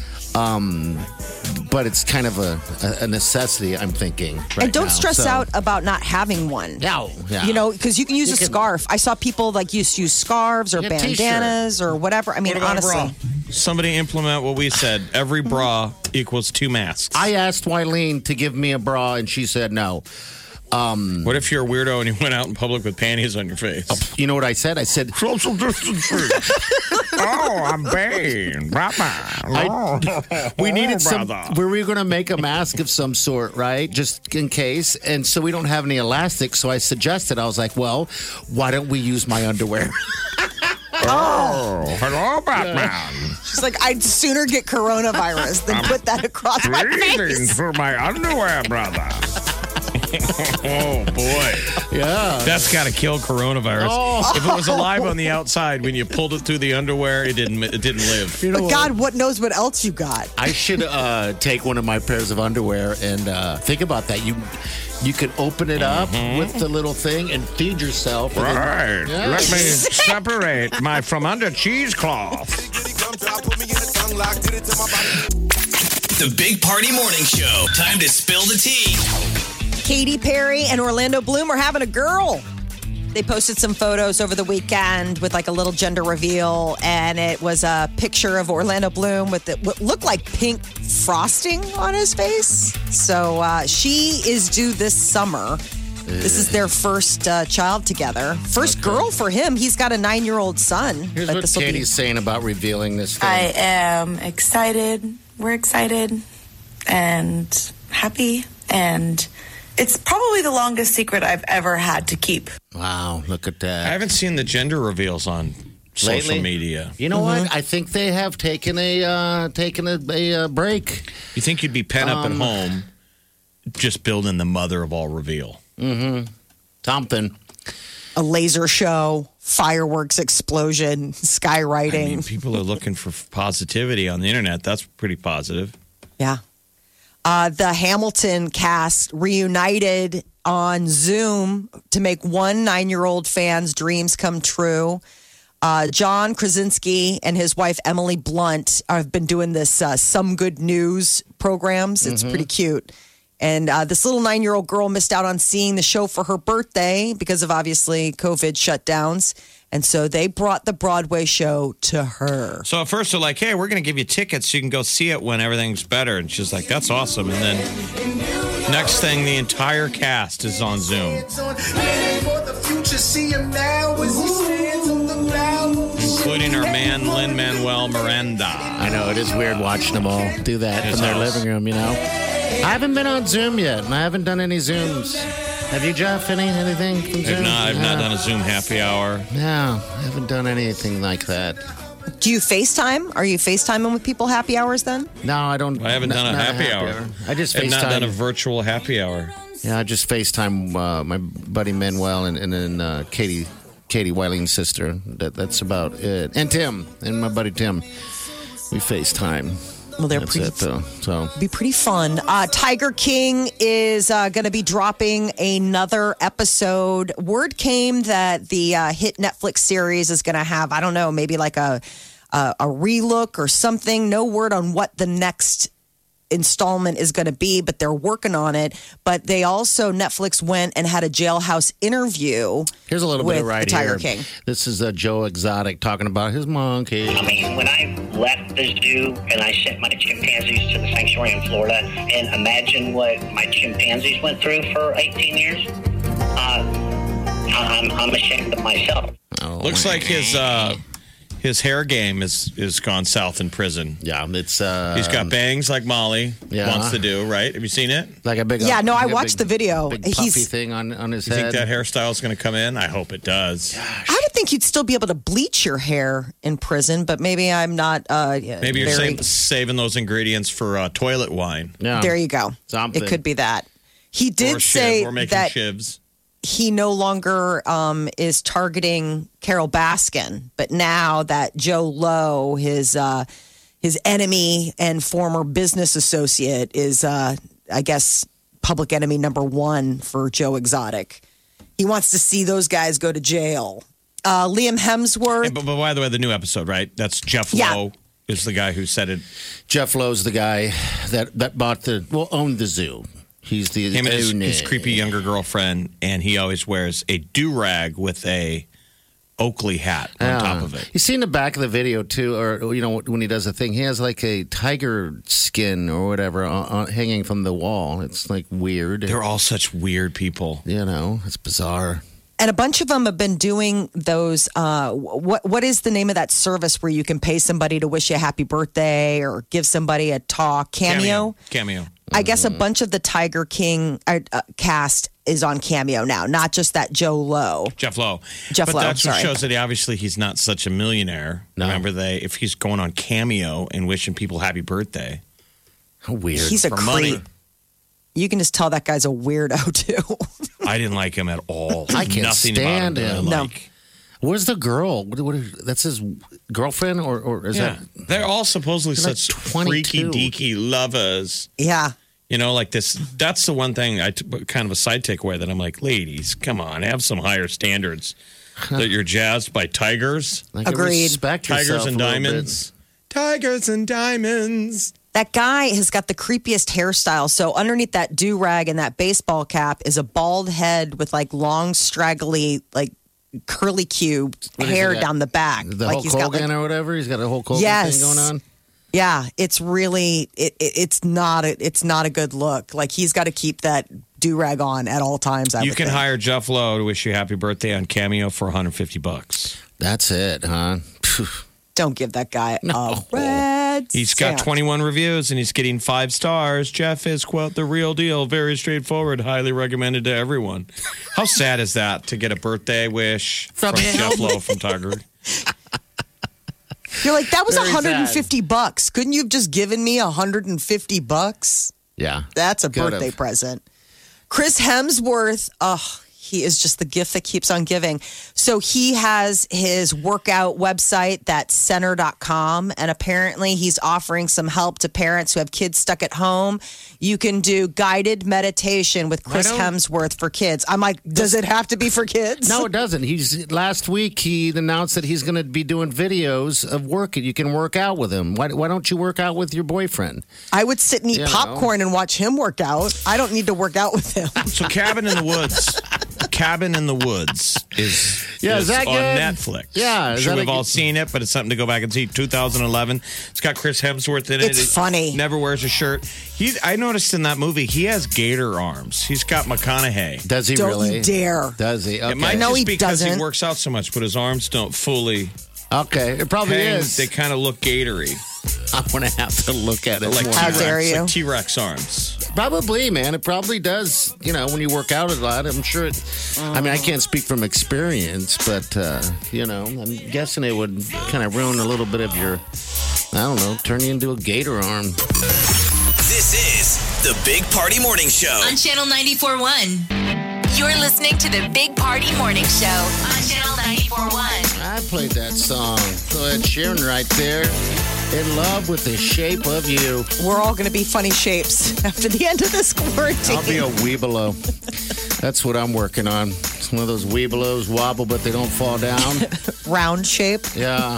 But it's kind of a necessity, I'm thinking. Right and don't now. stress out about not having one. No, yeah. Because you can use a scarf. I saw people use scarves or bandanas or whatever. I mean, What about a honestly. bra? Somebody implement what we said. Every bra equals 2 masks. I asked Wileen to give me a bra, and she said no. What if you're a weirdo and you went out in public with panties on your face? You know what I said? I said social distancing. Oh, I'm Bane. We needed some. We were going to make a mask of some sort, right? Just in case. And so we don't have any elastic. So I suggested, I was like, well, why don't we use my underwear? Oh, hello, Batman. She's like, I'd sooner get coronavirus than put that across my Breathing face. through my underwear, brother. Oh, boy. Yeah. That's got to kill coronavirus. Oh. If it was alive on the outside, when you pulled it through the underwear, it didn't live. You know But God, what knows what else you got? I should take one of my pairs of underwear and think about that. You could open it up with the little thing and feed yourself. Right. Let me separate my from under cheesecloth. The Big Party Morning Show. Time to spill the tea. Katy Perry and Orlando Bloom are having a girl. They posted some photos over the weekend with a little gender reveal, and it was a picture of Orlando Bloom with what looked like pink frosting on his face. So she is due this summer. This is their first child together. First girl for him. He's got a 9-year-old son. Here's what Katie's saying about revealing this thing. I am excited. We're excited and happy, and it's probably the longest secret I've ever had to keep. Wow, look at that. I haven't seen the gender reveals on social media. You know what? I think they have taken a break. You think you'd be pent up at home, just building the mother of all reveal? Something. A laser show, fireworks explosion, skywriting. I mean, people are looking for positivity on the internet. That's pretty positive. Yeah. The Hamilton cast reunited on Zoom to make one 9-year-old fan's dreams come true. John Krasinski and his wife Emily Blunt have been doing this Some Good News programs. It's pretty cute. And this little 9-year-old girl missed out on seeing the show for her birthday because of obviously COVID shutdowns. And so they brought the Broadway show to her. So at first they're like, hey, we're going to give you tickets so you can go see it when everything's better. And she's like, that's awesome. And then next thing, the entire cast is on Zoom. Including our man, Lin-Manuel Miranda. I know, it is weird watching them all do that in their living room, you know? I haven't been on Zoom yet, and I haven't done any Zooms. Have you, Jeff? Anything from Zoom? I've not done a Zoom happy hour. No, I haven't done anything like that. Do you FaceTime? Are you FaceTiming with people happy hours then? No, I don't. I haven't done a happy hour. I just I've FaceTime. not done a virtual happy hour. Yeah, I just FaceTime my buddy Manuel and then Katie Wiling's sister. That's about it. And Tim, and my buddy Tim. We FaceTime. Well, they're That's pretty. it, though. So Be pretty fun. Tiger King is going to be dropping another episode. Word came that the hit Netflix series is going to have, I don't know, maybe like a relook or something. No word on what the next installment is going to be, but they're working on it. But they also, Netflix went and had a Jailhouse interview. Here's a little bit with of right the Tiger here. King. This is Joe Exotic talking about his monkey. I mean, when I left the zoo and I sent my chimpanzees to the sanctuary in Florida, and imagine what my chimpanzees went through for 18 years, I'm ashamed of myself. Looks like his hair game is gone south in prison. Yeah, it's he's got bangs like Molly wants to do, right? Have you seen it? Like a big I watched the video. Big puffy thing on his You head. think that hairstyle is going to come in? I hope it does. I would think you'd still be able to bleach your hair in prison, but maybe I'm not. Maybe you're saving those ingredients for toilet wine. Yeah. There you go. Something. It could be that. He did Or say we're making that shivs. he no longer is targeting Carol Baskin, but now that Joe Lowe, his enemy and former business associate, is I guess public enemy number one for Joe Exotic. He wants to see those guys go to jail. Liam Hemsworth. But by the way, the new episode, right? That's Jeff Lowe is the guy who said it. Jeff Lowe's the guy that owned the zoo. He's the Him and his creepy younger girlfriend, and he always wears a do-rag with a Oakley hat on top of it. You see in the back of the video too, or when he does a thing, he has like a tiger skin or whatever hanging from the wall. It's like weird. They're all such weird people. It's bizarre. And a bunch of them have been doing those. What is the name of that service where you can pay somebody to wish you a happy birthday or give somebody a talk? Cameo. I guess a bunch of the Tiger King cast is on Cameo now, not just that Joe Lowe. Jeff Lowe. But that's what shows that he's not such a millionaire. No. Remember, if he's going on Cameo and wishing people happy birthday. How weird. He's a for creep. money. You can just tell that guy's a weirdo, too. I didn't like him at all. I can't Nothing stand about him. No. Like. Where's the girl? That's his girlfriend, or is that? They're all supposedly They're such like 22. freaky deaky lovers. Yeah. Like this. That's the one thing kind of a side takeaway that I'm like, ladies, come on, have some higher standards. That you're jazzed by tigers. Agreed. Respect Tigers yourself and a little diamonds. bit. Tigers and diamonds. That guy has got the creepiest hairstyle. So underneath that do-rag and that baseball cap is a bald head with like long, straggly, like curly cube hair down the back. The like Hulk Hogan or whatever. He's got a Hulk Hogan thing going on. Yeah, it's really it's not a good look. Like he's got to keep that do-rag on at all times. You can hire Jeff Lowe to wish you happy birthday on Cameo for $150. That's it, huh? Don't give that guy a red. He's got 21 reviews and he's getting 5 stars. Jeff is, quote, the real deal. Very straightforward. Highly recommended to everyone. How sad is that to get a birthday wish from Jeff Lowe from Tiger? You're like, that was Very $150. Couldn't you have just given me $150? Yeah. That's a Could've. birthday present. Chris Hemsworth, he is just the gift that keeps on giving. So he has his workout website, that's center.com. And apparently he's offering some help to parents who have kids stuck at home. You can do guided meditation with Chris Hemsworth for kids. I'm like, does it have to be for kids? No, it doesn't. Last week he announced that he's going to be doing videos of working. You can work out with him. Why don't you work out with your boyfriend? I would sit and eat popcorn and watch him work out. I don't need to work out with him. So Cabin in the Woods. Cabin in the Woods is that on good? Netflix. Yeah, I'm is sure that we've all seen it, but it's something to go back and see. 2011. It's got Chris Hemsworth in it. It's funny. Never wears a shirt. I noticed in that movie he has gator arms. He's got McConaughey. Does he Don't really? you dare. Does he? Okay. It might No, just he be because he doesn't. works out so much, but his arms don't fully. Okay, it probably hang. is. They kind of look gatory. I'm going to have to look at it. Like more. How dare T-Rex, you. like T-Rex arms. Probably, man. It probably does. When you work out a lot, I'm sure it. I mean, I can't speak from experience, but, I'm guessing it would kind of ruin a little bit of your, I don't know, turn you into a gator arm. This is the Big Party Morning Show. On Channel 94.1. You're listening to the Big Party Morning Show on Channel 94.1. I played that song. Go ahead, Sharon, right there. In love with the shape of you. We're all going to be funny shapes after the end of this quarantine. I'll be a weebelo. That's what I'm working on. It's one of those weebelos wobble, but they don't fall down. Round shape. Yeah.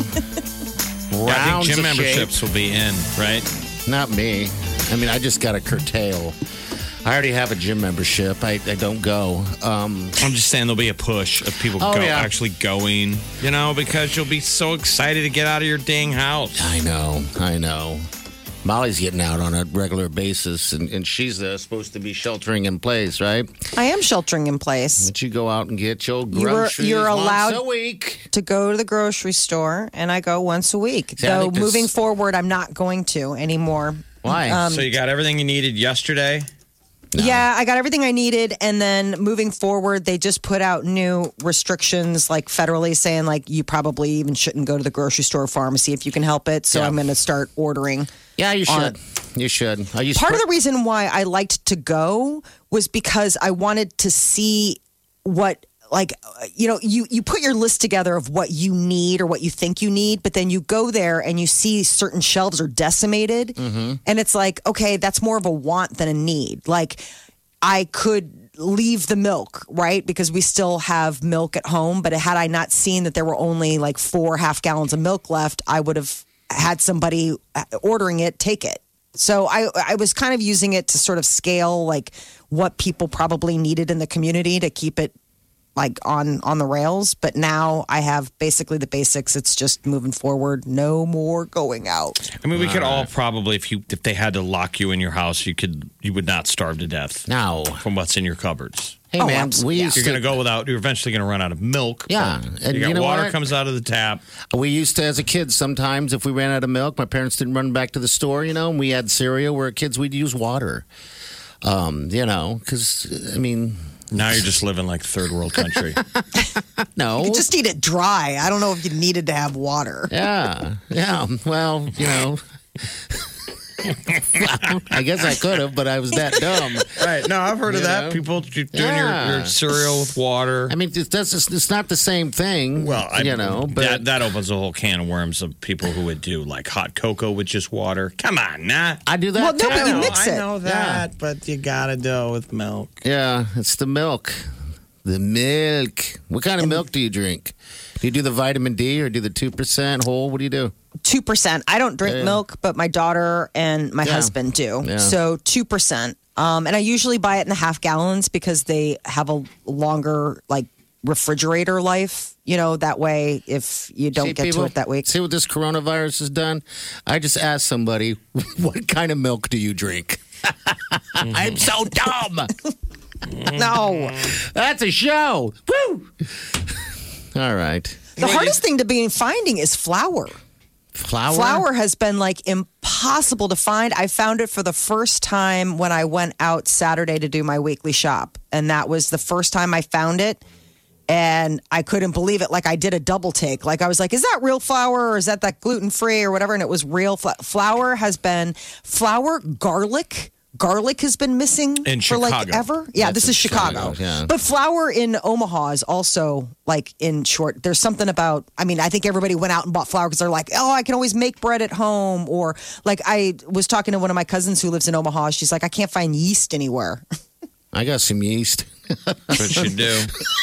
I think gym of memberships shape. will be in, right? Not me. I mean, I just got to curtail. I already have a gym membership. I don't go. I'm just saying there'll be a push of people actually going, because you'll be so excited to get out of your dang house. I know. Molly's getting out on a regular basis, and she's supposed to be sheltering in place, right? I am sheltering in place. But you go out and get your groceries You're allowed once a week. to go to the grocery store, and I go once a week. See, I Though think this- moving forward, I'm not going to anymore. Why? So you got everything you needed yesterday? Yeah, I got everything I needed. And then moving forward, they just put out new restrictions, like federally saying, like, you probably even shouldn't go to the grocery store or pharmacy if you can help it. So Yeah. I'm going to start ordering. Yeah, you should. You should. Part of the reason why I liked to go was because I wanted to see what, you put your list together of what you need or what you think you need, but then you go there and you see certain shelves are decimated. And it's like, okay, that's more of a want than a need. Like, I could leave the milk, right? Because we still have milk at home. But had I not seen that there were only like 4 half gallons of milk left, I would have had somebody ordering it, take it. So I was kind of using it to sort of scale like what people probably needed in the community to keep it like on the rails. But now I have basically the basics. It's just moving forward. No more going out. I mean, we could all probably, if they had to lock you in your house, you would not starve to death. No. From what's in your cupboards. Hey, man, You're going to go without, you're eventually going to run out of milk. Yeah. And you got you know water what? comes out of the tap. We used to, as a kid, sometimes if we ran out of milk, my parents didn't run back to the store, and we had cereal. We're kids, we'd use water. Because, I mean... Now you're just living like third world country. No. You could just eat it dry. I don't know if you needed to have water. Yeah. Well, I guess I could have, but I was that dumb. Right. No, I've heard of that. People doing your cereal with water. I mean, it's not the same thing. Well, but that opens a whole can of worms of people who would do like hot cocoa with just water. Come on, nah. I do that Well, no, too. but you mix it. I know that, but you gotta do it with milk. Yeah, it's the milk. The milk. What kind of milk do you drink? Do you do the vitamin D or do the 2% whole? What do you do? 2%. I don't drink milk, but my daughter and my husband do. Yeah. So 2%. And I usually buy it in the half gallons because they have a longer like refrigerator life. That way if you don't get to it that week. See what this coronavirus has done? I just asked somebody, what kind of milk do you drink? I'm so dumb. No. That's a show. Woo! All right. The hardest thing to be finding is flour. Flour? Flour has been like impossible to find. I found it for the first time when I went out Saturday to do my weekly shop. And that was the first time I found it. And I couldn't believe it. Like I did a double take. Like I was like, is that real flour or is that gluten-free or whatever? And it was real flour garlic. Garlic has been missing in for Chicago. like ever. Yeah, this is Chicago. Yeah. But flour in Omaha is also like in short. There's something about, I mean, I think everybody went out and bought flour because they're like, oh, I can always make bread at home. Or like I was talking to one of my cousins who lives in Omaha. She's like, I can't find yeast anywhere. I got some yeast. What you do?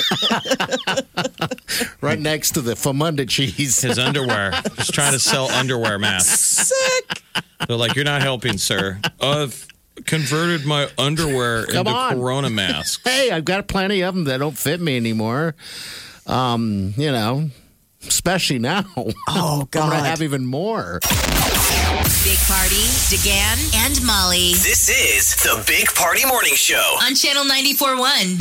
Right next to the Famunda cheese. His underwear. Just trying to sell underwear masks. Sick. They're like, you're not helping, sir. I've converted my underwear into Corona masks. Hey, I've got plenty of them that don't fit me anymore. You know, especially now. Oh, God. I'm going to have even more. Big Party, DeGan, and Molly This is the Big Party Morning Show. on Channel 94.1.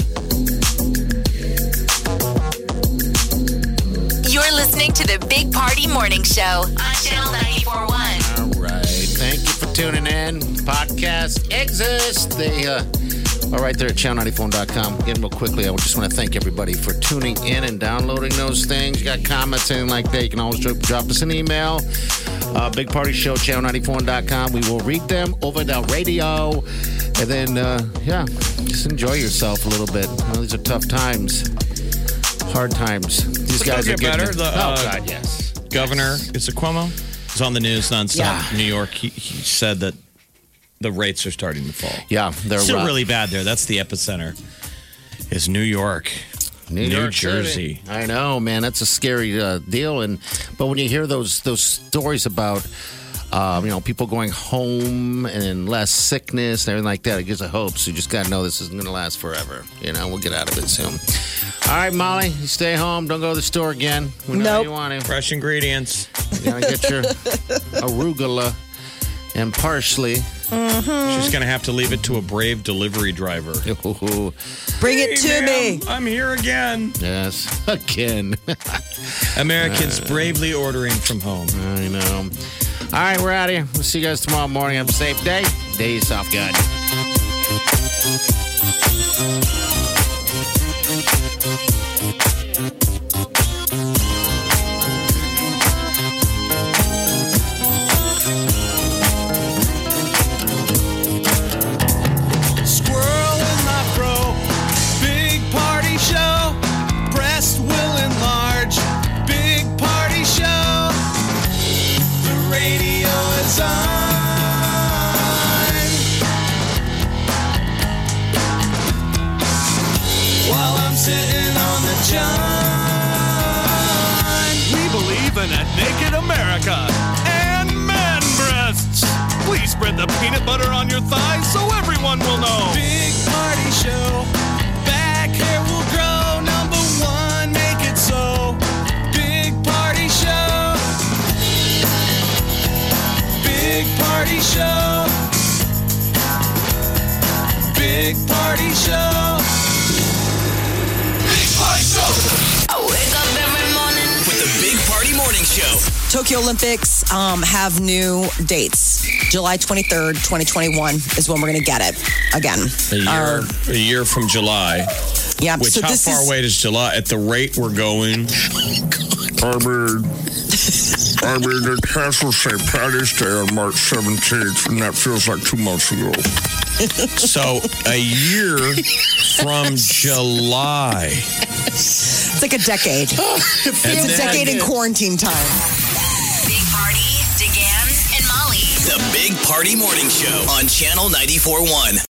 You're listening to the Big Party Morning Show on Channel 94.1. All right. Thank you for tuning in. Podcasts exist. They are right there at channel94.com. Again, real quickly, I just want to thank everybody for tuning in and downloading those things. You got comments, anything like that, you can always drop us an email. Big Party Show, channel94.com. We will read them over the radio. And then, just enjoy yourself a little bit. These are tough times. Hard times. These guys are getting better. God, yes. Governor, is it Cuomo? He's on the news nonstop. Yeah. New York, he said that the rates are starting to fall. Yeah, they're still rough. really bad there. That's the epicenter. Is New York, New York Jersey. City. I know, man. That's a scary deal. But when you hear those stories about people going home and less sickness and everything like that, it gives a hope. So you just got to know this isn't going to last forever. We'll get out of it soon. All right, Molly, you stay home. Don't go to the store again. We know you want to. Fresh ingredients. You got to get your arugula and parsley. She's going to have to leave it to a brave delivery driver. Bring it to me. I'm here again. Yes, again. Americans bravely ordering from home. I know. All right, we're out of here. We'll see you guys tomorrow morning. Have a safe day. Days off, good. Squirrel in my fro. Big party show. Breast will enlarge. Big party show. The radio is on. While I'm sitting on the john. We believe in a naked America and man breasts. Please spread the peanut butter on your thighs so everyone will know. Big party show. Back hair will grow. Number one, make it so. Big party show. Big party show. Big party show. Big Party Show I wake up every morning with the Big Party Morning Show. Tokyo Olympics have new dates. July 23rd, 2021 is when we're going to get it again. A year from July. Yeah. Which, so how this far is, away is July? At the rate we're going. I mean, the Castle St. Patty's Day on March 17th, and that feels like 2 months ago. So, a year from July. It's like a decade. It's a decade in quarantine time. Big Party, DeGan, and Molly. The Big Party Morning Show on Channel 94.1.